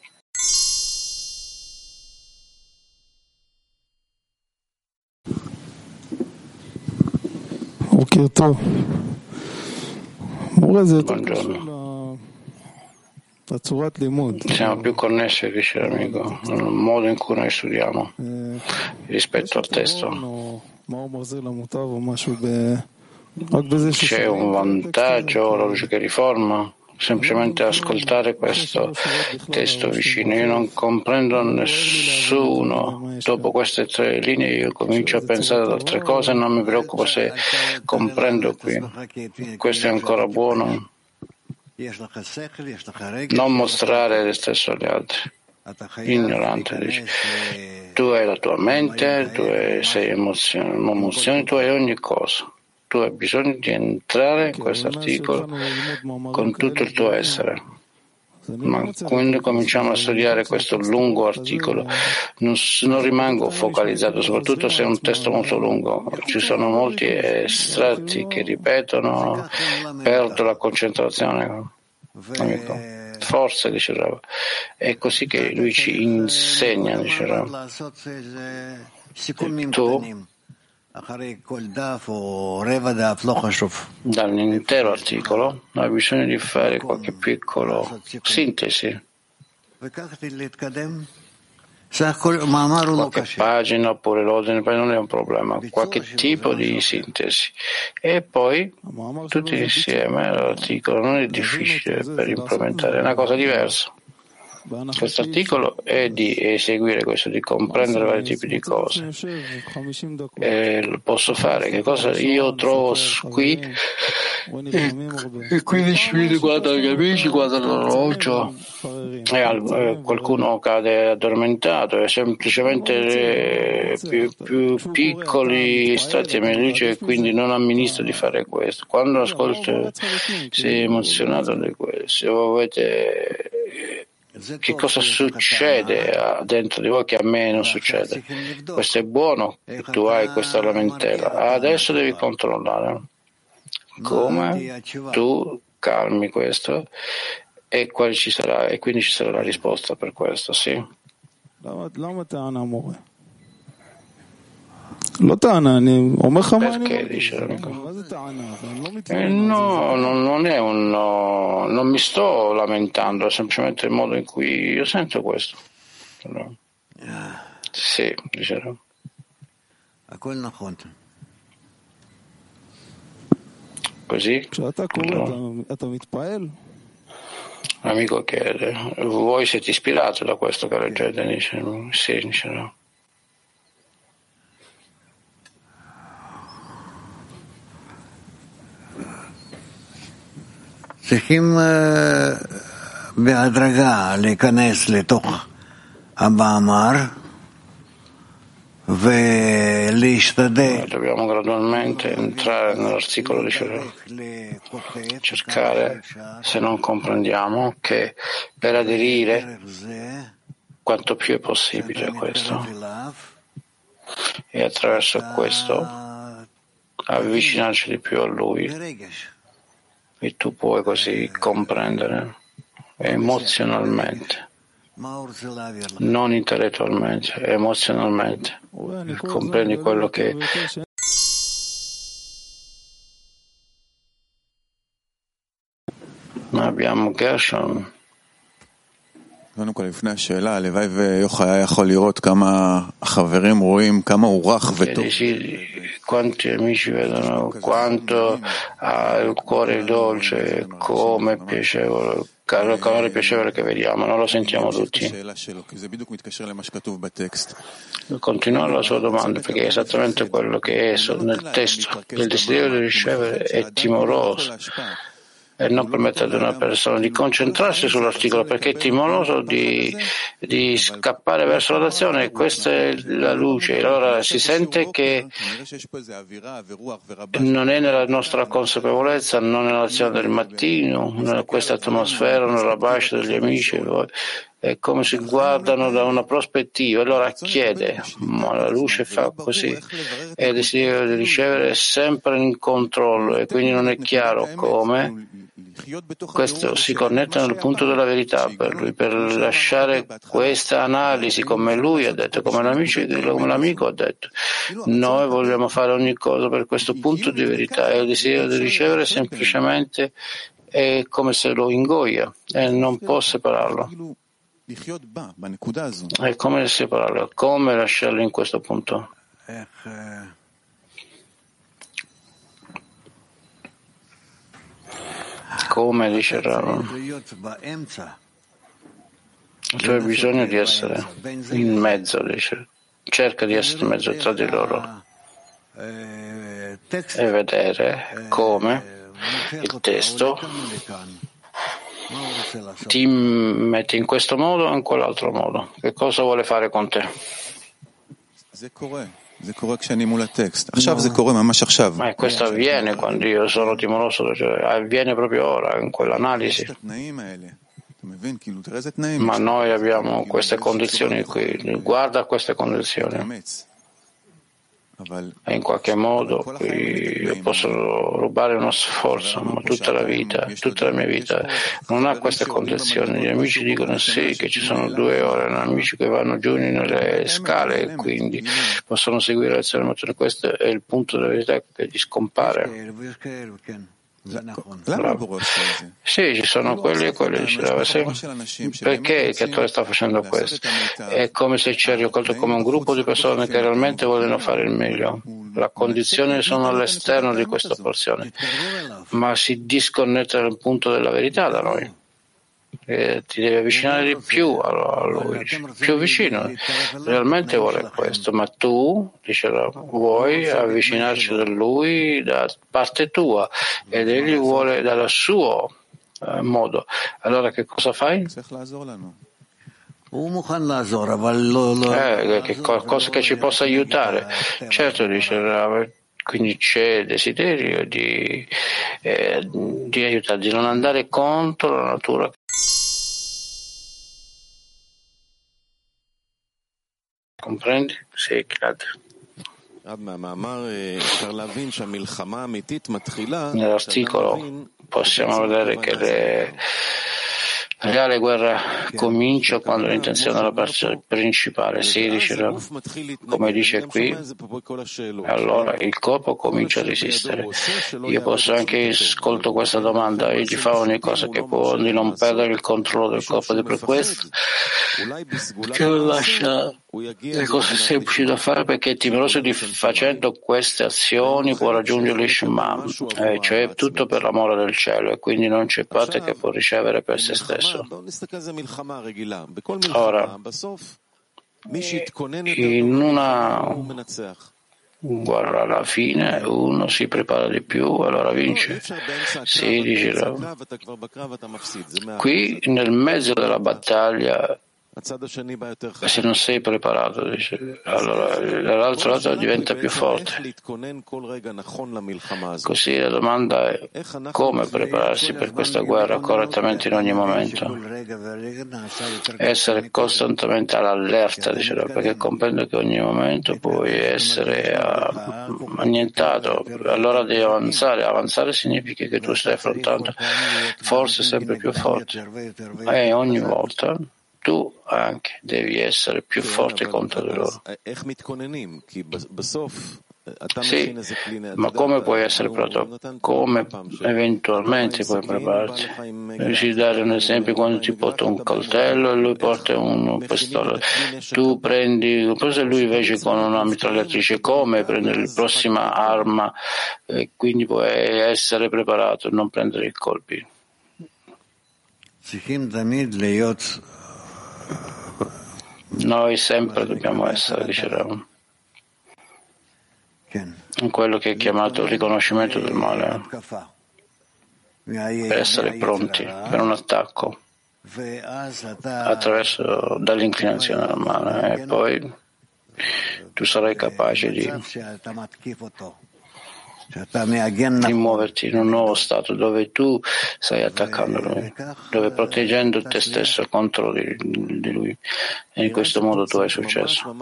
Buongiorno. Siamo più connessi, dice l'amico, nel modo in cui noi studiamo rispetto al testo. C'è un vantaggio, la luce che riforma? Semplicemente ascoltare questo testo vicino. Io non comprendo nessuno. Dopo queste tre linee io comincio a pensare ad altre cose e non mi preoccupo se comprendo qui. Questo è ancora buono. Non mostrare te stesso agli altri. Ignorante, dice. Tu hai la tua mente, tu hai, sei emozioni, emozioni, tu hai ogni cosa. Tu hai bisogno di entrare in questo articolo con tutto il tuo essere. Ma quando cominciamo a studiare questo lungo articolo, non, non rimango focalizzato, soprattutto se è un testo molto lungo. Ci sono molti estratti che ripetono, perdo la concentrazione. Amico. Forza, dice Rav. È così che lui ci insegna, dice Rav. Tu dall'intero articolo hai bisogno di fare qualche piccolo sintesi, qualche pagina oppure l'ordine, non è un problema, qualche tipo di sintesi e poi tutti insieme l'articolo non è difficile per implementare, è una cosa diversa. questo articolo è di eseguire questo, di comprendere vari tipi di cose. E lo posso fare. Che cosa io trovo qui? E quindici minuti guardano gli amici, guardano l'orologio e al, qualcuno cade addormentato, e semplicemente più, più piccoli strati amici, e quindi non amministro di fare questo. Quando ascolto sei emozionato di questo, se volete, che cosa succede dentro di voi che a me non succede? Questo è buono, tu hai questa lamentela, adesso devi controllare come tu calmi questo e quale ci sarà, e quindi ci sarà la risposta per questo, sì. Perché, dice l'amico? Eh, no, non, non è un no, non mi sto lamentando, è semplicemente il modo in cui io sento questo. Sì, dice. Così? No. L'amico chiede, voi siete ispirati da questo che leggete? Dice, sì, dice no. צריכים בהדרגה להיכנס לתוך המאמר ולהשתדל. Dobbiamo gradualmente entrare nell'articolo, dice, cercare, se non comprendiamo, che per aderire quanto più è possibile a questo e attraverso questo avvicinarci di più a Lui. E tu puoi così comprendere emozionalmente, non intellettualmente, emozionalmente. Comprendi quello che abbiamo Gershon. קודם כל, לפני השאלה, הלוואי ויוחאי היה יכול לראות כמה החברים רואים, כמה הוא רך וטוב. Quanti amici vedono quanto ha il cuore dolce, come piacevole, il calore piacevole che vediamo, non lo sentiamo tutti. Continuare la sua domanda, perché è esattamente quello che è nel testo. Il desiderio di ricevere è timoroso e non permette ad una persona di concentrarsi sull'articolo, perché è timoroso di, di scappare verso l'azione. Questa è la luce. Allora si sente che non è nella nostra consapevolezza, non è nell'azione del mattino, in questa atmosfera, nella bascia degli amici. È come si guardano da una prospettiva. Allora chiede, ma la luce fa così, e il desiderio di ricevere è sempre in controllo, e quindi non è chiaro come questo si connette nel punto della verità per lui, per lasciare questa analisi, come lui ha detto, come l'amico, come l'amico ha detto. Noi vogliamo fare ogni cosa per questo punto di verità, e il desiderio di ricevere semplicemente è come se lo ingoia e non può separarlo. È come separarlo, come lasciarlo in questo punto. Come dice Rav, tu hai bisogno di essere in mezzo, dice. Cerca di essere in mezzo tra di loro e vedere come il testo ti mette in questo modo o in quell'altro modo. Che cosa vuole fare con te? Ma questo avviene quando io sono timoroso, cioè avviene proprio ora, in quell'analisi. Ma noi abbiamo queste condizioni qui, guarda queste condizioni. E in qualche modo io posso rubare uno sforzo, ma tutta la vita, tutta la mia vita non ha queste condizioni. Gli amici dicono sì, che ci sono due ore, gli amici che vanno giù nelle scale e quindi possono seguire l'azione motore. Questo è il punto della verità che gli scompare. Sì, ci sono quelli e quelli. Diceva, sì. Perché il creatore sta facendo questo? È come se ci è raccolto come un gruppo di persone che realmente vogliono fare il meglio. Le condizioni sono all'esterno di questa porzione, ma si disconnette dal punto della verità da noi. e ti devi avvicinare di più a lui, più vicino. Realmente vuole questo, ma tu, dice, vuoi avvicinarci da lui da parte tua ed egli vuole dal suo eh, modo. Allora che cosa fai? Eh, che qualcosa che ci possa aiutare. Certo, dice, quindi c'è desiderio di, eh, di aiutare, di non andare contro la natura. Comprendi? Sì, grazie. Nell'articolo possiamo vedere che le La reale guerra comincia quando l'intenzione della parte principale si dice, come dice qui, allora il corpo comincia a resistere. Io posso anche ascolto questa domanda, egli fa ogni cosa che può di non perdere il controllo del corpo, ed è per questo che non lascia le cose semplici da fare, perché è timoroso di facendo queste azioni può raggiungere l'Ishma, eh, cioè tutto per l'amore del cielo, e quindi non c'è parte che può ricevere per se stesso. Ora, in una guarda, alla fine uno si prepara di più, allora vince. Si dice, qui nel mezzo della battaglia, se non sei preparato, dice, allora dall'altro lato diventa più forte. Così la domanda è come prepararsi per questa guerra correttamente in ogni momento. Essere costantemente all'allerta, diceva, perché comprendo che ogni momento puoi essere uh, annientato, allora devi avanzare. Avanzare significa che tu stai affrontando forze sempre più forti, e ogni volta tu anche devi essere più forte contro di loro. Sì, ma come puoi essere pronto? Come eventualmente puoi prepararti? Riesci a dare un esempio: quando ti porta un coltello e lui porta un pistola, tu prendi, se lui invece con una mitragliatrice, come prendere la prossima arma, e quindi puoi essere preparato e non prendere i colpi. Noi sempre dobbiamo essere, dicevamo, in quello che è chiamato riconoscimento del male, per essere pronti per un attacco attraverso dall'inclinazione del male, e poi tu sarai capace di, di muoverti in un nuovo stato dove tu stai attaccando lui, dove proteggendo te stesso contro di, di lui, e in questo modo tu hai successo.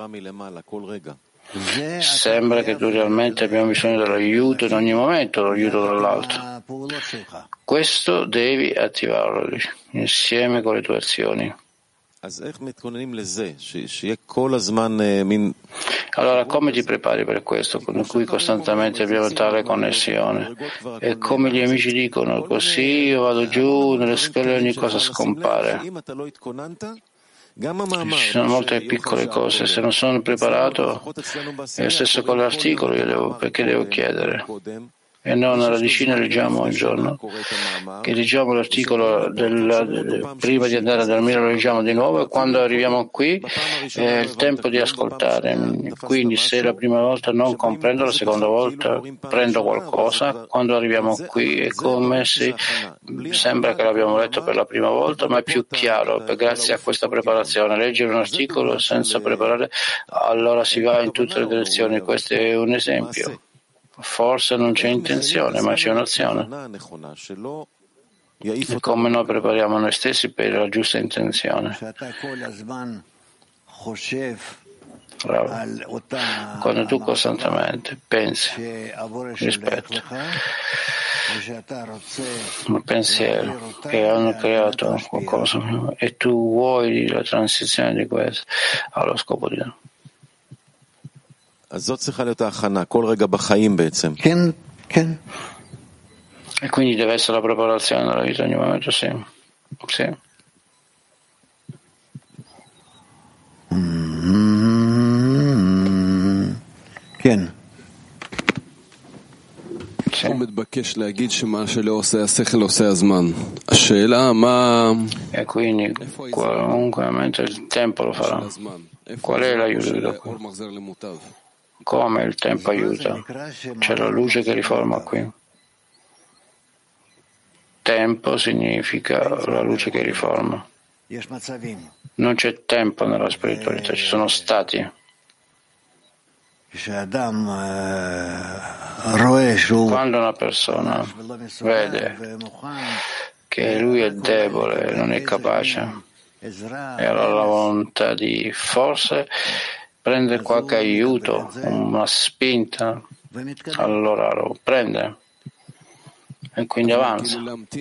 Sembra che tu realmente abbiamo bisogno dell'aiuto in ogni momento, l'aiuto dall'alto. Questo devi attivarlo insieme con le tue azioni. Allora, come ti prepari per questo, con cui costantemente abbiamo tale connessione? E come gli amici dicono, così io vado giù nelle scale e ogni cosa scompare. Ci sono molte piccole cose, se non sono preparato, è lo stesso con l'articolo, io devo, perché devo chiedere? E non alla radicina leggiamo un giorno, che leggiamo l'articolo del, del, prima di andare a dormire, lo leggiamo di nuovo, e quando arriviamo qui è il tempo di ascoltare. Quindi se la prima volta non comprendo, la seconda volta prendo qualcosa. Quando arriviamo qui è come se sembra che l'abbiamo letto per la prima volta, ma è più chiaro, per, grazie a questa preparazione. Leggere un articolo senza preparare, allora si va in tutte le direzioni. Questo è un esempio. Forse non c'è intenzione, ma c'è un'azione. E come noi prepariamo noi stessi per la giusta intenzione. Bravo. Quando tu costantemente pensi rispetto un pensiero che hanno creato qualcosa e tu vuoi la transizione di questo allo scopo di no. E quindi deve essere la preparazione della vita ogni momento, sì. Sì. Mm-hmm. E quindi qualunque il tempo lo farà. Qual è l'aiuto da qui? Come il tempo aiuta? C'è la luce che riforma qui. Tempo significa la luce che riforma. Non c'è tempo nella spiritualità, ci sono stati. Quando una persona vede che lui è debole, non è capace, e ha la volontà di forse prendere qualche aiuto, una spinta, allora lo prende e quindi avanza.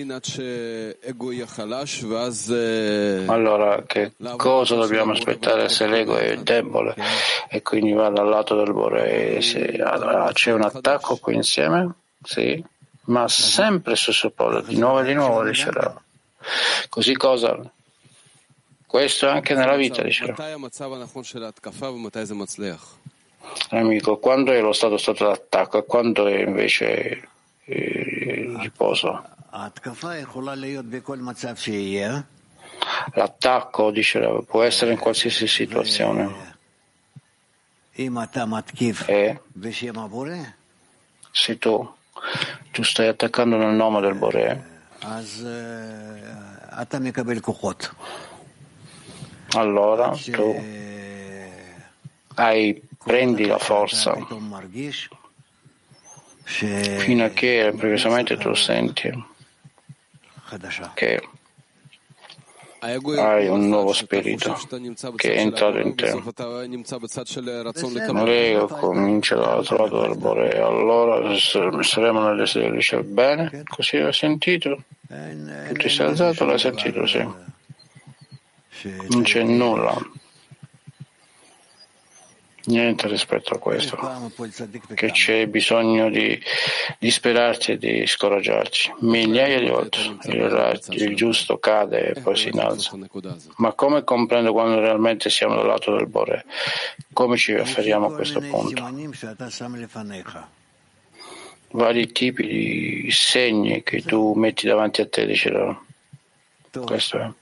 Allora, che cosa dobbiamo aspettare se l'ego è debole e quindi va dal lato del Bore? Se c'è un attacco qui insieme? Sì, ma sempre su Suppola, di nuovo e di nuovo, dicerà. Così cosa? Questo anche nella vita, dicerà. Amico, quando è lo stato stato d'attacco e quando è invece il riposo? L'attacco, dice, può essere in qualsiasi situazione. E se tu, tu stai attaccando nel nome del Bore, allora tu hai, prendi la forza fino a che improvvisamente tu senti che hai un nuovo spirito che è entrato in te. L'ego comincia dall'altro lato del Bore, allora saremo nel desiderio, dice bene, così hai sentito? Tu ti sei alzato, l'hai sentito, sì. Non c'è nulla, niente rispetto a questo, che c'è bisogno di disperarci e di scoraggiarci. Migliaia di volte il, il giusto cade e poi si innalza. Ma come comprendo quando realmente siamo dal lato del Bore? Come ci riferiamo a questo punto? Vari tipi di segni che tu metti davanti a te, dicevo. Questo è.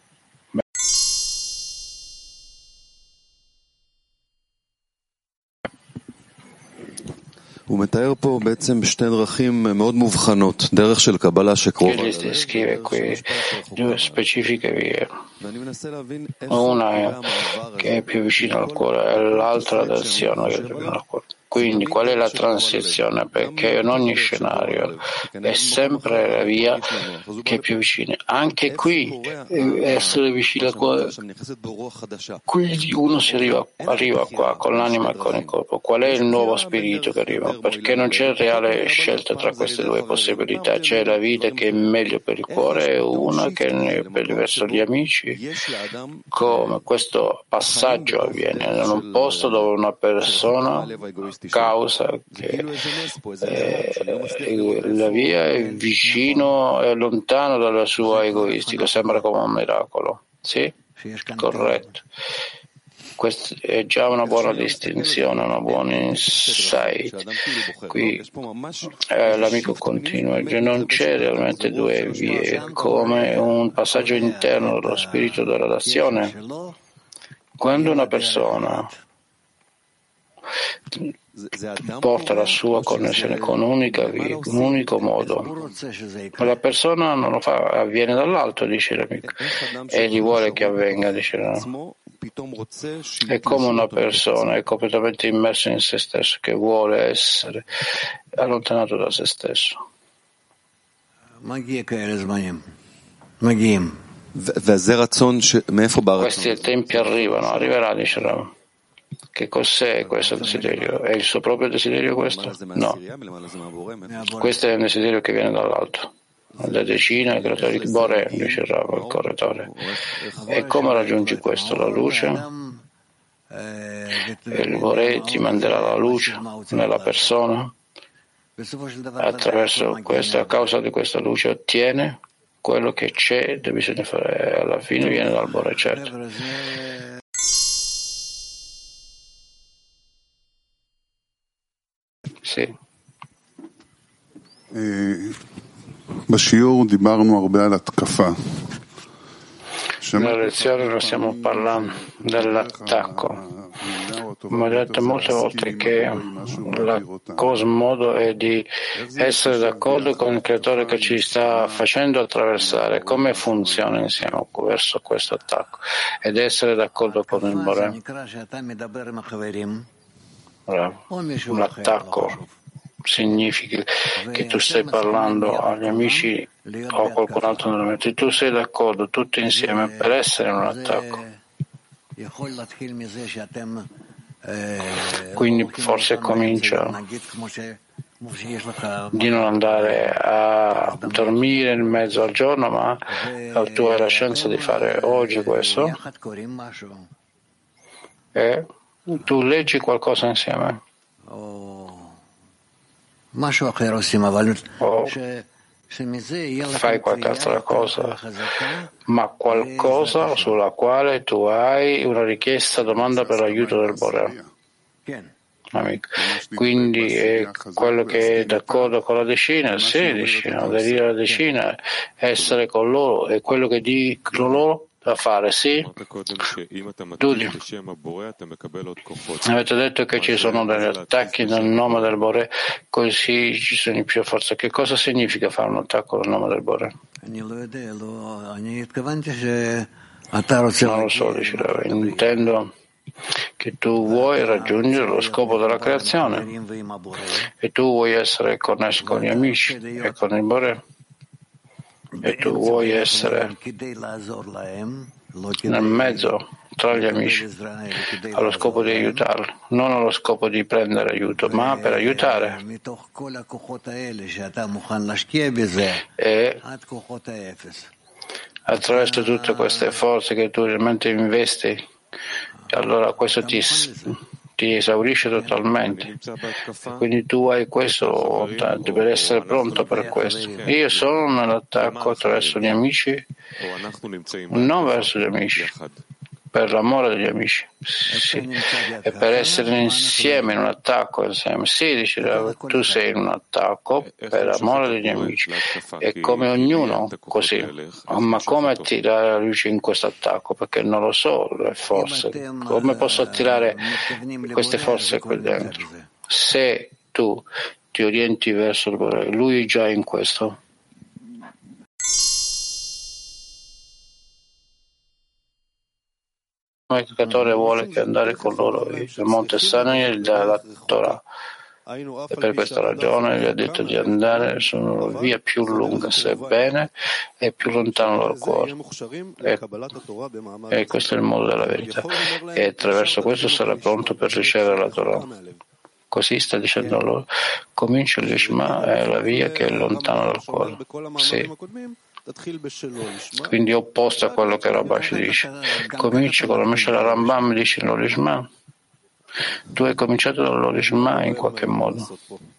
Egli descrive qui due specifiche vie. Una è che è più vicina al cuore e l'altra del Sion che è più vicino al cuore. Quindi qual è la transizione? Perché in ogni scenario è sempre la via che è più vicina. Anche qui essere vicino al cuore, quindi uno si arriva, arriva qua con l'anima e con il corpo. Qual è il nuovo spirito che arriva? Perché non c'è reale scelta tra queste due possibilità. C'è la vita che è meglio per il cuore e una che è verso gli amici. Come questo passaggio avviene in un posto dove una persona causa che eh, la via è vicino e lontano dalla sua egoistica, sembra come un miracolo. Sì? Corretto. Questa è già una buona distinzione, una buona insight. Qui eh, l'amico continua, non c'è realmente due vie, come un passaggio interno dello spirito della relazione. Quando una persona porta la sua connessione con un'unica via, un unico modo, la persona non lo fa, avviene dall'alto, dice l'amico, egli vuole che avvenga, dice no. È come una persona è completamente immersa in se stesso, che vuole essere allontanato da se stesso. Questi tempi arrivano, arriverà, dice Ram. Che cos'è questo desiderio? È il suo proprio desiderio questo? No. Questo è un desiderio che viene dall'alto. La decina, il creatore di Bore, dice Rav, il correttore. E come raggiungi questo? La luce? Il Bore ti manderà la luce nella persona. Attraverso questa, a causa di questa luce, ottiene quello che c'è e bisogna fare. Alla fine viene dal Bore, certo. Sì. Nella lezione non stiamo parlando dell'attacco, ma ho detto molte volte che la cosa modo è di essere d'accordo con il creatore che ci sta facendo attraversare, come funziona insieme verso questo attacco, ed essere d'accordo con il Boré. L'attacco significa che tu stai parlando agli amici o a qualcun altro nella mente, tu sei d'accordo tutti insieme per essere in un attacco. Quindi forse comincia di non andare a dormire in mezzo al giorno, ma tu hai la scienza di fare oggi questo e tu leggi qualcosa insieme. O fai qualche altra cosa, ma qualcosa sulla quale tu hai una richiesta, domanda per l'aiuto del Boré. Amico. Quindi è quello che è d'accordo con la decina, sì, decina, aderire alla decina, essere con loro, è quello che dicono loro da fare, sì. Dudi. Avete detto che ci sono degli attacchi nel nome del Boré, così ci sono più forze. Che cosa significa fare un attacco nel nome del Boré? Non lo so, dicevo, intendo che tu vuoi raggiungere lo scopo della creazione e tu vuoi essere connesso con gli amici e con il Boré e tu vuoi essere nel mezzo tra gli amici allo scopo di aiutarli, non allo scopo di prendere aiuto, ma per aiutare. E attraverso tutte queste forze che tu realmente investi, allora questo ti, ti esaurisce totalmente. Quindi tu hai questo per essere pronto per questo. Io sono nell'attacco attraverso gli amici, non verso gli amici, per l'amore degli amici, sì. E per essere insieme in un attacco insieme. Sì, dice, tu sei in un attacco per l'amore degli amici, e come ognuno così. Ma come attirare la luce in questo attacco? Perché non lo so, le forze. Come posso attirare queste forze qui dentro? Se tu ti orienti verso il Boré, lui è già in questo. Il creatore vuole che andare con loro il Monte Sinai dalla Torah, e per questa ragione gli ha detto di andare su una via più lunga, sebbene è più lontano dal cuore, e, e questo è il modo della verità, e attraverso questo sarà pronto per ricevere la Torah. Così sta dicendo loro, comincia l'Ishma, è la via che è lontana dal cuore. Sì. Quindi opposto a quello che Rabash dice. Cominci con la Meshach Rambam, dice l'Olishma. Tu hai cominciato dall'Olishma in qualche modo.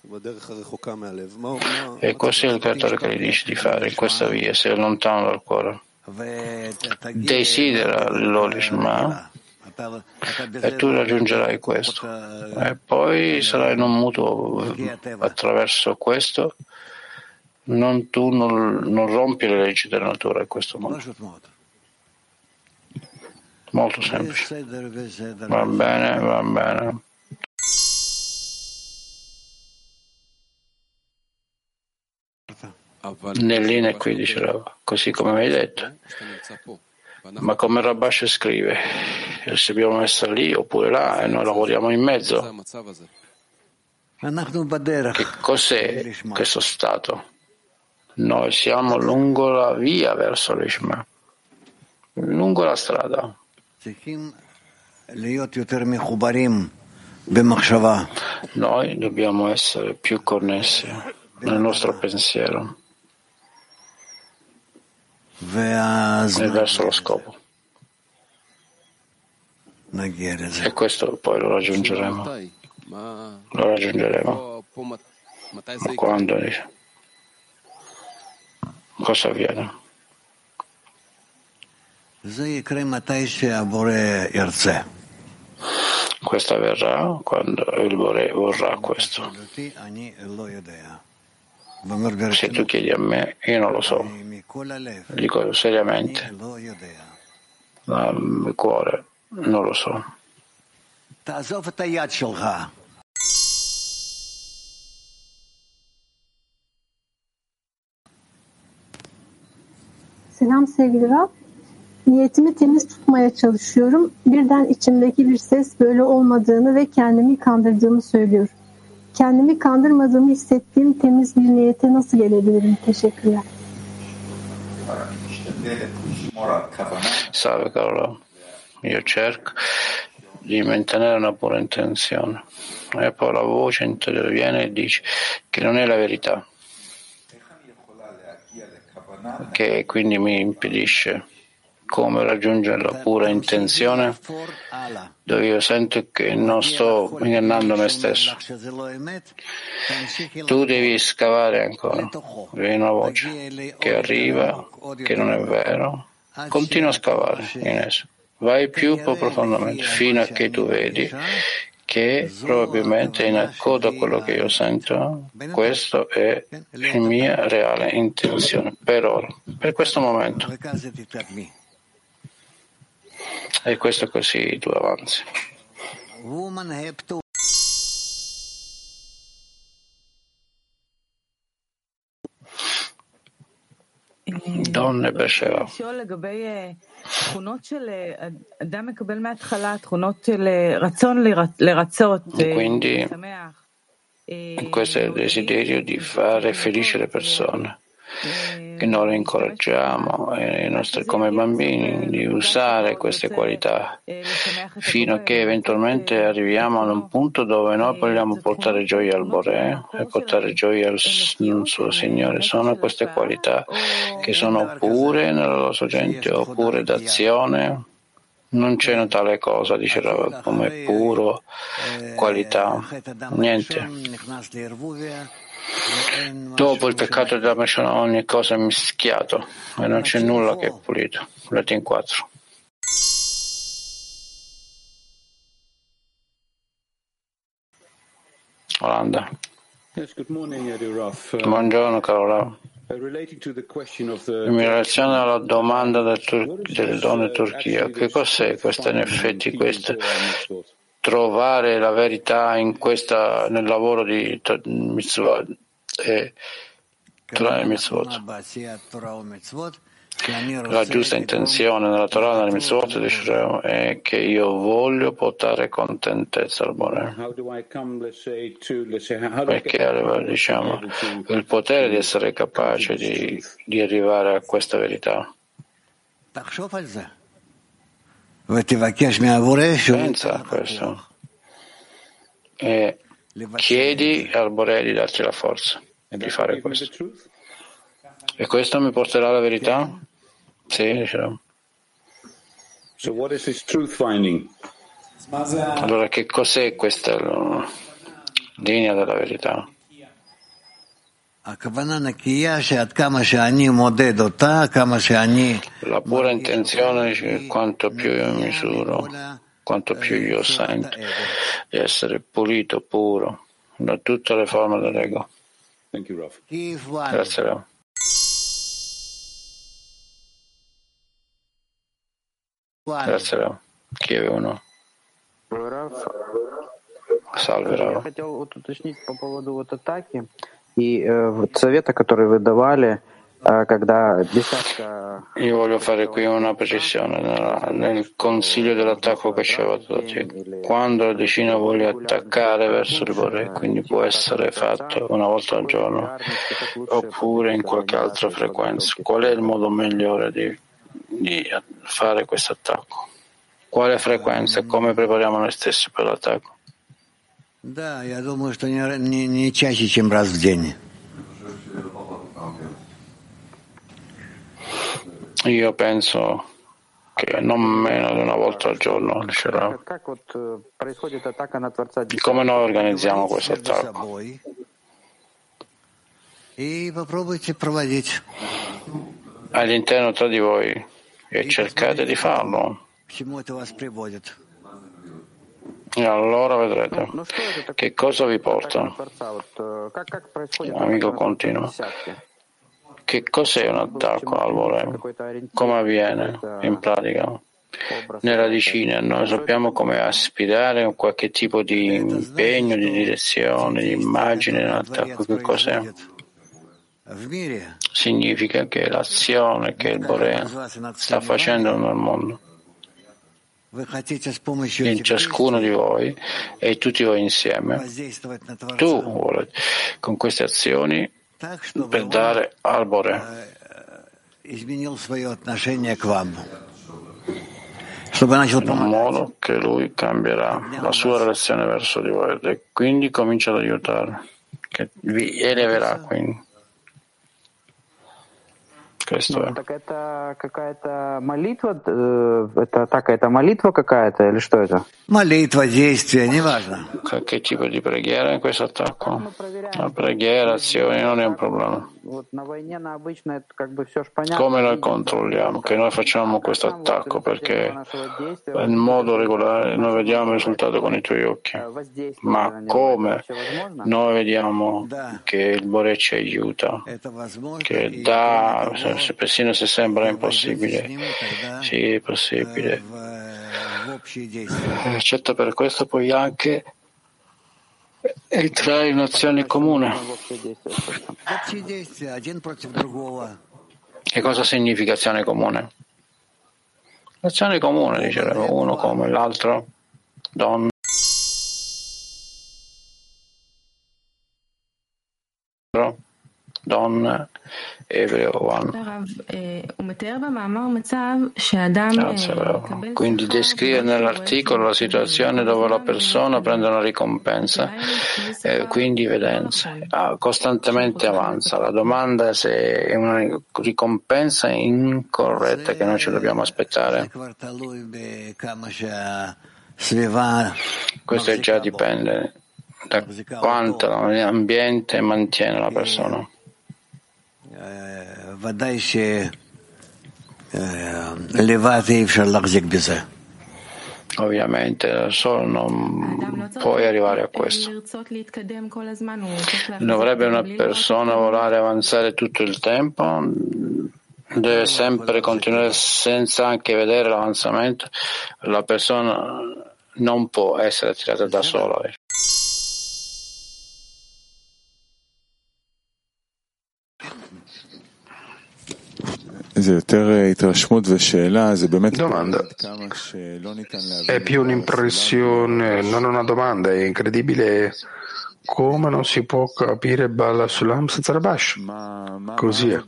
E questo è il creatore che gli dice di fare in questa via, sei lontano dal cuore. Desidera l'Olishma e tu raggiungerai questo. E poi sarai in un mutuo attraverso questo. Non, tu non, non rompi le leggi della natura in questo modo. Molto semplice. Va bene, va bene. Nell'Ine qui diceva, così come mi hai detto. Ma come Rabash scrive, se dobbiamo essere lì oppure là e noi lavoriamo in mezzo. Che cos'è questo stato? Noi siamo lungo la via verso l'Ishma, lungo la strada. Noi dobbiamo essere più connessi nel nostro pensiero e verso lo scopo. E questo poi lo raggiungeremo. Lo raggiungeremo. Ma quando? Cosa avviene? Questo avverrà quando il Boré vorrà questo. Se tu chiedi a me, io non lo so. Dico seriamente, dal cuore, non lo so. Selam sevgili Rab. Niyetimi temiz tutmaya çalışıyorum. Birden içimdeki bir ses böyle olmadığını ve kendimi kandırdığımı söylüyor. Kendimi kandırmadığımı hissettiğim temiz bir niyete nasıl gelebilirim? Teşekkürler. Salve Carlo, io cerco di mantenere una pura intenzione e poi la voce interviene e dice che non è la verità, che quindi mi impedisce come raggiungere la pura intenzione dove io sento che non sto ingannando me stesso. Tu devi scavare ancora, vedi una voce che arriva, che non è vero, continua a scavare in esso, vai più profondamente fino a che tu vedi che probabilmente in accordo a quello che io sento, questo è la mia reale intenzione per ora, per questo momento. E questo così tu avanzi. Donne Beersheva. Quindi questo è il desiderio di fare felice le persone, che noi le incoraggiamo eh, nostri, come bambini di usare queste qualità fino a che eventualmente arriviamo ad un punto dove noi vogliamo portare gioia al Boré e portare gioia al suo Signore. Sono queste qualità che sono pure nella loro sorgente oppure d'azione. Non c'è tale cosa, dice Rav, come puro qualità, niente. Dopo il peccato della Meshana ogni cosa è mischiato e non c'è nulla che è pulito. Latin quattro. Olanda. Buongiorno caro Rav. In relazione alla domanda del Tur- delle donne Turchia, che cos'è questa in effetti questo? Trovare la verità in questa, nel lavoro di mitzvot e Torah e mitzvot. La giusta intenzione nella Torah e nelle mitzvot è che io voglio portare contentezza al Boré. Perché diciamo il potere di essere capace di, di arrivare a questa verità. Pensa a questo e chiedi al Boré di darti la forza di fare questo. E questo mi porterà alla verità? Sì, diciamo. Allora, che cos'è questa linea della verità? La pura intenzione, quanto più io misuro, quanto più io sento di essere pulito, puro, da tutte le forme dell'ego. Grazie, Rav. Grazie, Rav. Kiev uno. Salve, Rav. И э, совета, которые вы давали, э, когда десятка... Io voglio fare qui una precisione nel, nel consiglio dell'attacco che ci avete dato. Quando la decina vuole attaccare verso il Boré, quindi può essere fatto una volta al giorno oppure in qualche altra frequenza. Qual è il modo migliore di, di fare questo attacco? Quale frequenza e come prepariamo noi stessi per l'attacco? Да, я думаю, что не, не, не чаще, чем раз в день. Io penso che non meno di una volta al giorno, dicerà. Come noi organizziamo questo attacco? All'interno tra di voi e cercate di farlo. E allora vedrete che cosa vi porta. Amico continua. Che cos'è un attacco al Bore? Come avviene in pratica? Nelle radicine noi sappiamo come aspirare a qualche tipo di impegno, di direzione, di immagine nell'attacco. Che cos'è? Significa che l'azione che il Bore sta facendo nel mondo, in ciascuno di voi e tutti voi insieme, tu vuoi con queste azioni per dare al Bore in un modo che lui cambierà la sua relazione verso di voi e quindi comincia ad aiutare, che vi eleverà quindi. Questo è. Так это какая-то молитва, это атака, это молитва какая-то или что это? Молитва, действие, неважно. Che tipo di preghiera in questo attacco? La preghiera, azioni, non è un problema. Come noi controlliamo che noi facciamo questo attacco? Perché in modo regolare noi vediamo il risultato con i tuoi occhi. Ma come noi vediamo che il Bore ci aiuta, che dà, persino se sembra impossibile, sì, è possibile. Eccetto per questo puoi anche entrare in un'azione comune. Che cosa significa azione comune? L'azione comune, dicevo, uno come l'altro, donna. Donna, ebreo, one. Quindi descrive nell'articolo la situazione dove la persona prende una ricompensa, eh, quindi evidenza, ah, costantemente avanza. La domanda è se è una ricompensa incorretta che noi ci dobbiamo aspettare. Questo già dipende da quanto l'ambiente mantiene la persona. Ovviamente da solo non puoi arrivare a questo. Dovrebbe una persona volare avanzare tutto il tempo, deve sempre continuare senza anche vedere l'avanzamento. La persona non può essere tirata da sola. Domanda. È più un'impressione, non una domanda, è incredibile come non si può capire Bala Sulam senza Rabash. Così è.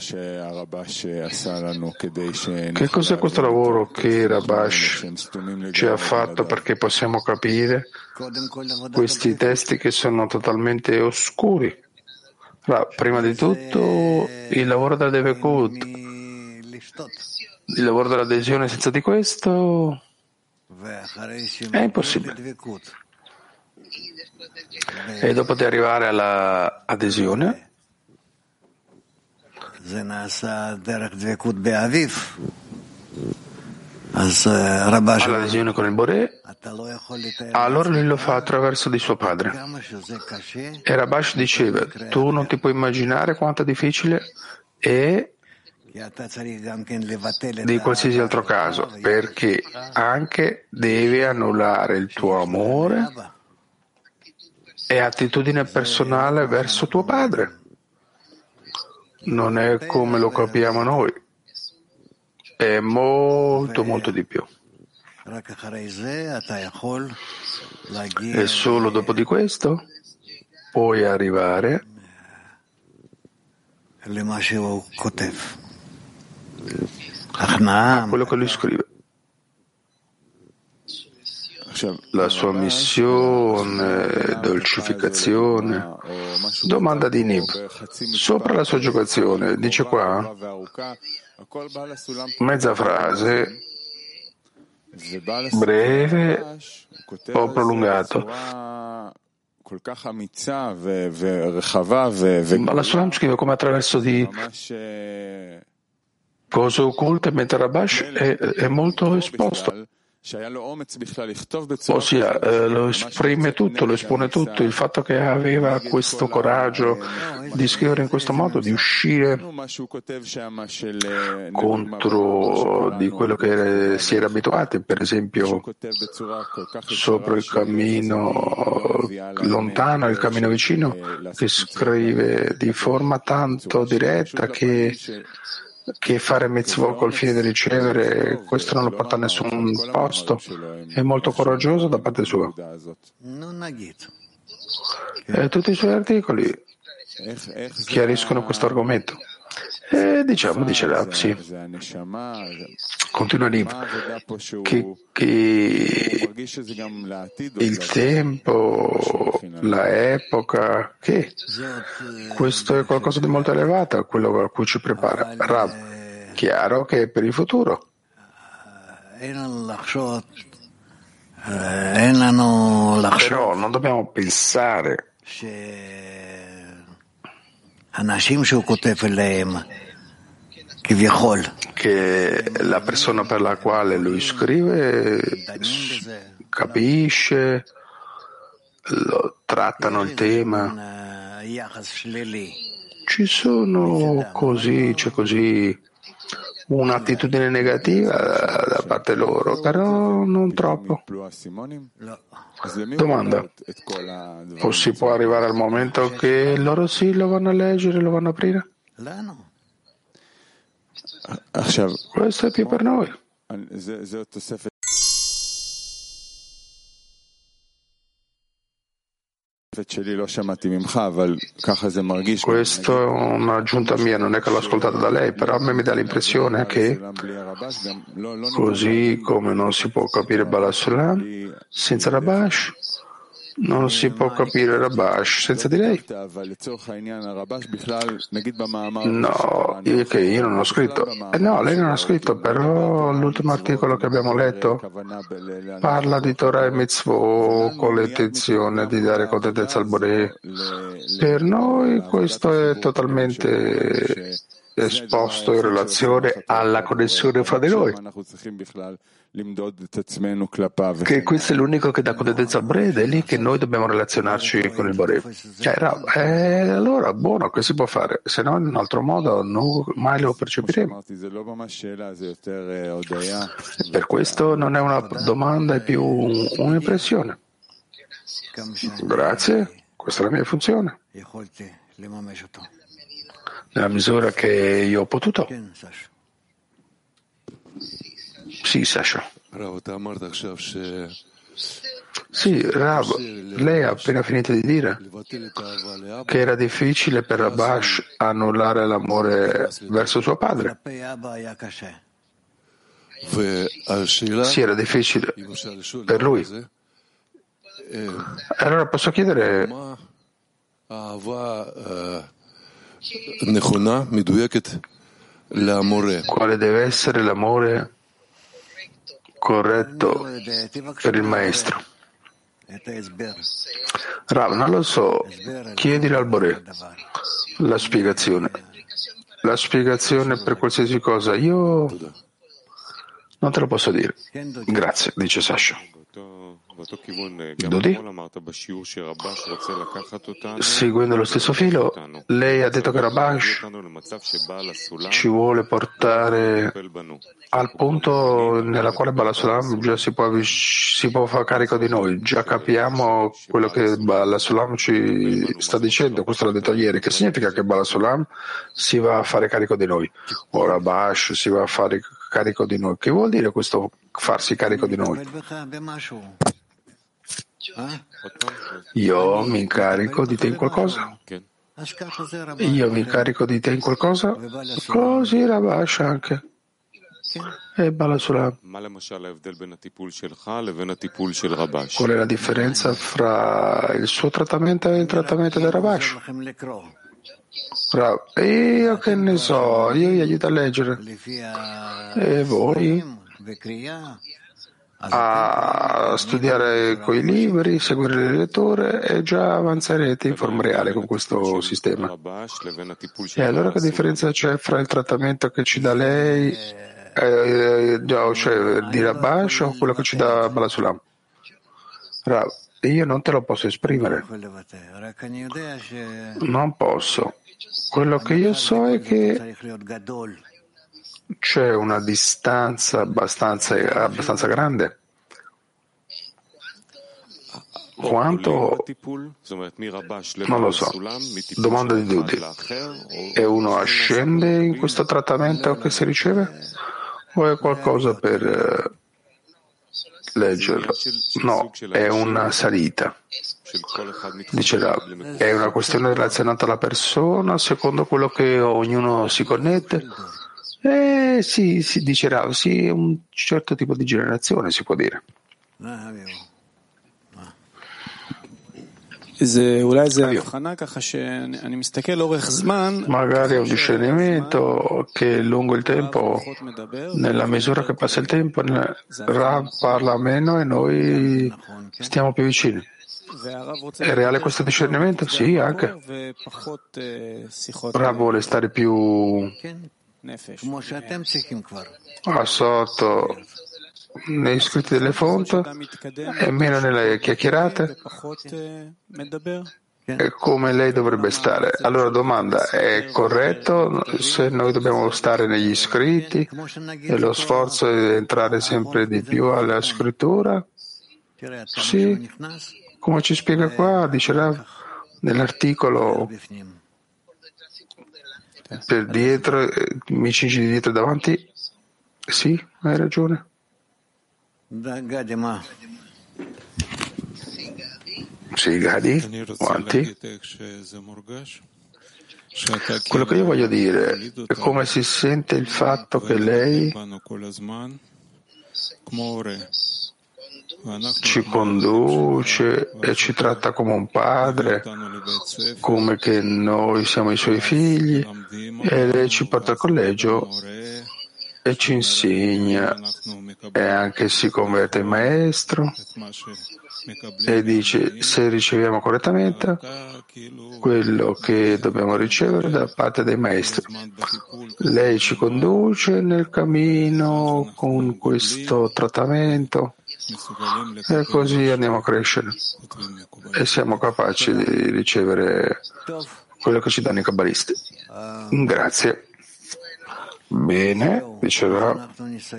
Che cos'è questo lavoro che Rabash ci ha fatto perché possiamo capire questi testi che sono totalmente oscuri? Allora, prima di tutto il lavoro della Devekut, il lavoro dell'adesione, senza di questo è impossibile. E dopo di arrivare alla adesione, all'adesione con il Bore, allora lui lo fa attraverso di suo padre. E Rabash diceva, tu non ti puoi immaginare quanto è difficile è di qualsiasi altro caso, perché anche devi annullare il tuo amore e attitudine personale verso tuo padre. Non è come lo capiamo noi, è molto molto di più. E solo dopo di questo puoi arrivare a quello che lui scrive. La sua missione, dolcificazione. Domanda di Nib. Sopra la sua giocazione, dice qua, mezza frase, breve o prolungato. Ma la Sulam scrive come attraverso di cose occulte, mentre Rabash è, è molto esposto. Ossia, eh, lo esprime tutto, lo espone tutto. Il fatto che aveva questo coraggio di scrivere in questo modo, di uscire contro di quello che si era abituati, per esempio sopra il cammino lontano, il cammino vicino, che scrive di forma tanto diretta che che fare mitzvot col fine di ricevere, questo non lo porta a nessun posto. È molto coraggioso da parte sua. E tutti i suoi articoli chiariscono questo argomento. E diciamo, dice Rav, sì. Continua Riv, che, che il tempo, la epoca, che questo è qualcosa di molto elevato, quello a cui ci prepara. Rav, chiaro che è per il futuro. Però non dobbiamo pensare che la persona per la quale lui scrive capisce, lo, trattano il tema. Ci sono così, c'è così un'attitudine negativa da parte loro, però non troppo. Domanda: o si può arrivare al momento che loro sì lo vanno a leggere, lo vanno a aprire? Questo è più per noi. Questo è un'aggiunta mia, non è che l'ho ascoltata da lei, però a me mi dà l'impressione che, così come non si può capire Baal HaSulam senza Rabash, non si può capire Rabash senza di lei. No, io, che io non ho scritto. Eh no, lei non ha scritto, però l'ultimo articolo che abbiamo letto parla di Torah e Mitzvot con l'intenzione di dare contentezza al Boré. Per noi questo è totalmente esposto in relazione alla connessione fra di noi, che questo è l'unico che dà contentezza al Boré ed è lì che noi dobbiamo relazionarci con il Boré. Cioè, eh, allora buono, che si può fare? Se no in un altro modo non, mai lo percepiremo. Per questo non è una domanda, è più un'impressione. Grazie, questa è la mia funzione, nella misura che io ho potuto. Sì, Sasha. Sì, Rav, lei ha appena finito di dire che era difficile per Rabash annullare l'amore verso suo padre. Sì, era difficile per lui. Allora posso chiedere quale deve essere l'amore corretto per il maestro? Rav, non lo so, chiedilo al Boré la spiegazione. La spiegazione per qualsiasi cosa. Io non te lo posso dire. Grazie, dice Sasha. Dodi? Seguendo lo stesso filo, lei ha detto che Rabash ci vuole portare al punto nella quale Baal HaSulam già si può, si può fare carico di noi. Già capiamo quello che Baal HaSulam ci sta dicendo, questo l'ha detto ieri, che significa che Baal HaSulam si va a fare carico di noi, o Rabash si va a fare carico di noi. Che vuol dire questo farsi carico di noi? Io mi incarico di te in qualcosa? Io mi incarico di te in qualcosa? Così Rabash anche. E Baal HaSulam. Qual è la differenza fra il suo trattamento e il trattamento del Rabash? Io che ne so, io gli aiuto a leggere. E voi? A studiare coi libri, seguire le letture e già avanzerete in forma reale con questo sistema. E allora che differenza c'è fra il trattamento che ci dà lei eh, cioè di Rabash o quello che ci dà Balasulam? Rav, io non te lo posso esprimere, non posso. Quello che io so è che c'è una distanza abbastanza, abbastanza grande. Quanto? Non lo so. Domanda di Dudi. E uno ascende in questo trattamento che si riceve? O è qualcosa per eh, leggerlo? No, è una salita. Dice Rav, è una questione relazionata alla persona, secondo quello che ognuno si connette? Eh sì, sì, dice Rav, sì, è un certo tipo di generazione, si può dire. Magari è un discernimento che lungo il tempo, nella misura che passa il tempo, Rav parla meno e noi stiamo più vicini. È reale questo discernimento? Sì, anche. Rav vuole stare più a sotto nei scritti delle fonti e meno nelle chiacchierate. E come lei dovrebbe stare? Allora domanda, è corretto se noi dobbiamo stare negli scritti e lo sforzo è entrare sempre di più alla scrittura? Sì, come ci spiega qua, dice Rav, nell'articolo per dietro, mi cingi di dietro e davanti? Sì, hai ragione. Sì, Gadi, avanti. Quello che io voglio dire è come si sente il fatto che lei ci conduce e ci tratta come un padre, come che noi siamo i suoi figli, e lei ci porta al collegio e ci insegna e anche si converte in maestro e dice se riceviamo correttamente quello che dobbiamo ricevere da parte dei maestri. Lei ci conduce nel cammino con questo trattamento e così andiamo a crescere e siamo capaci di ricevere quello che ci danno i kabbalisti. Grazie. Bene, diceva.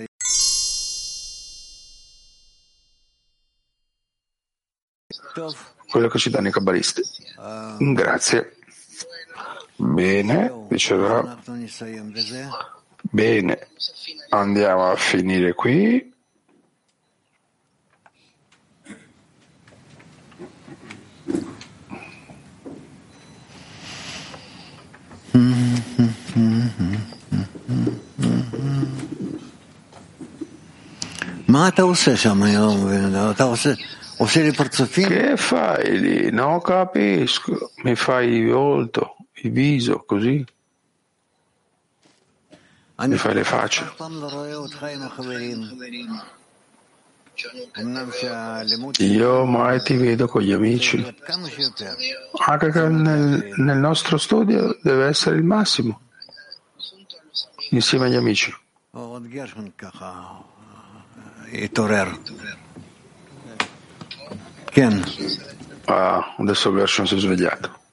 Quello che ci danno i kabbalisti. Grazie. Bene, diceva. Bene, andiamo a finire qui. Che fai lì? Non capisco. Mi fai il volto, il viso, così. Mi fai le facce. Io mai ti vedo con gli amici. Anche che nel, nel nostro studio deve essere il massimo. Insieme agli amici. Ah, adesso Gershon si è svegliato.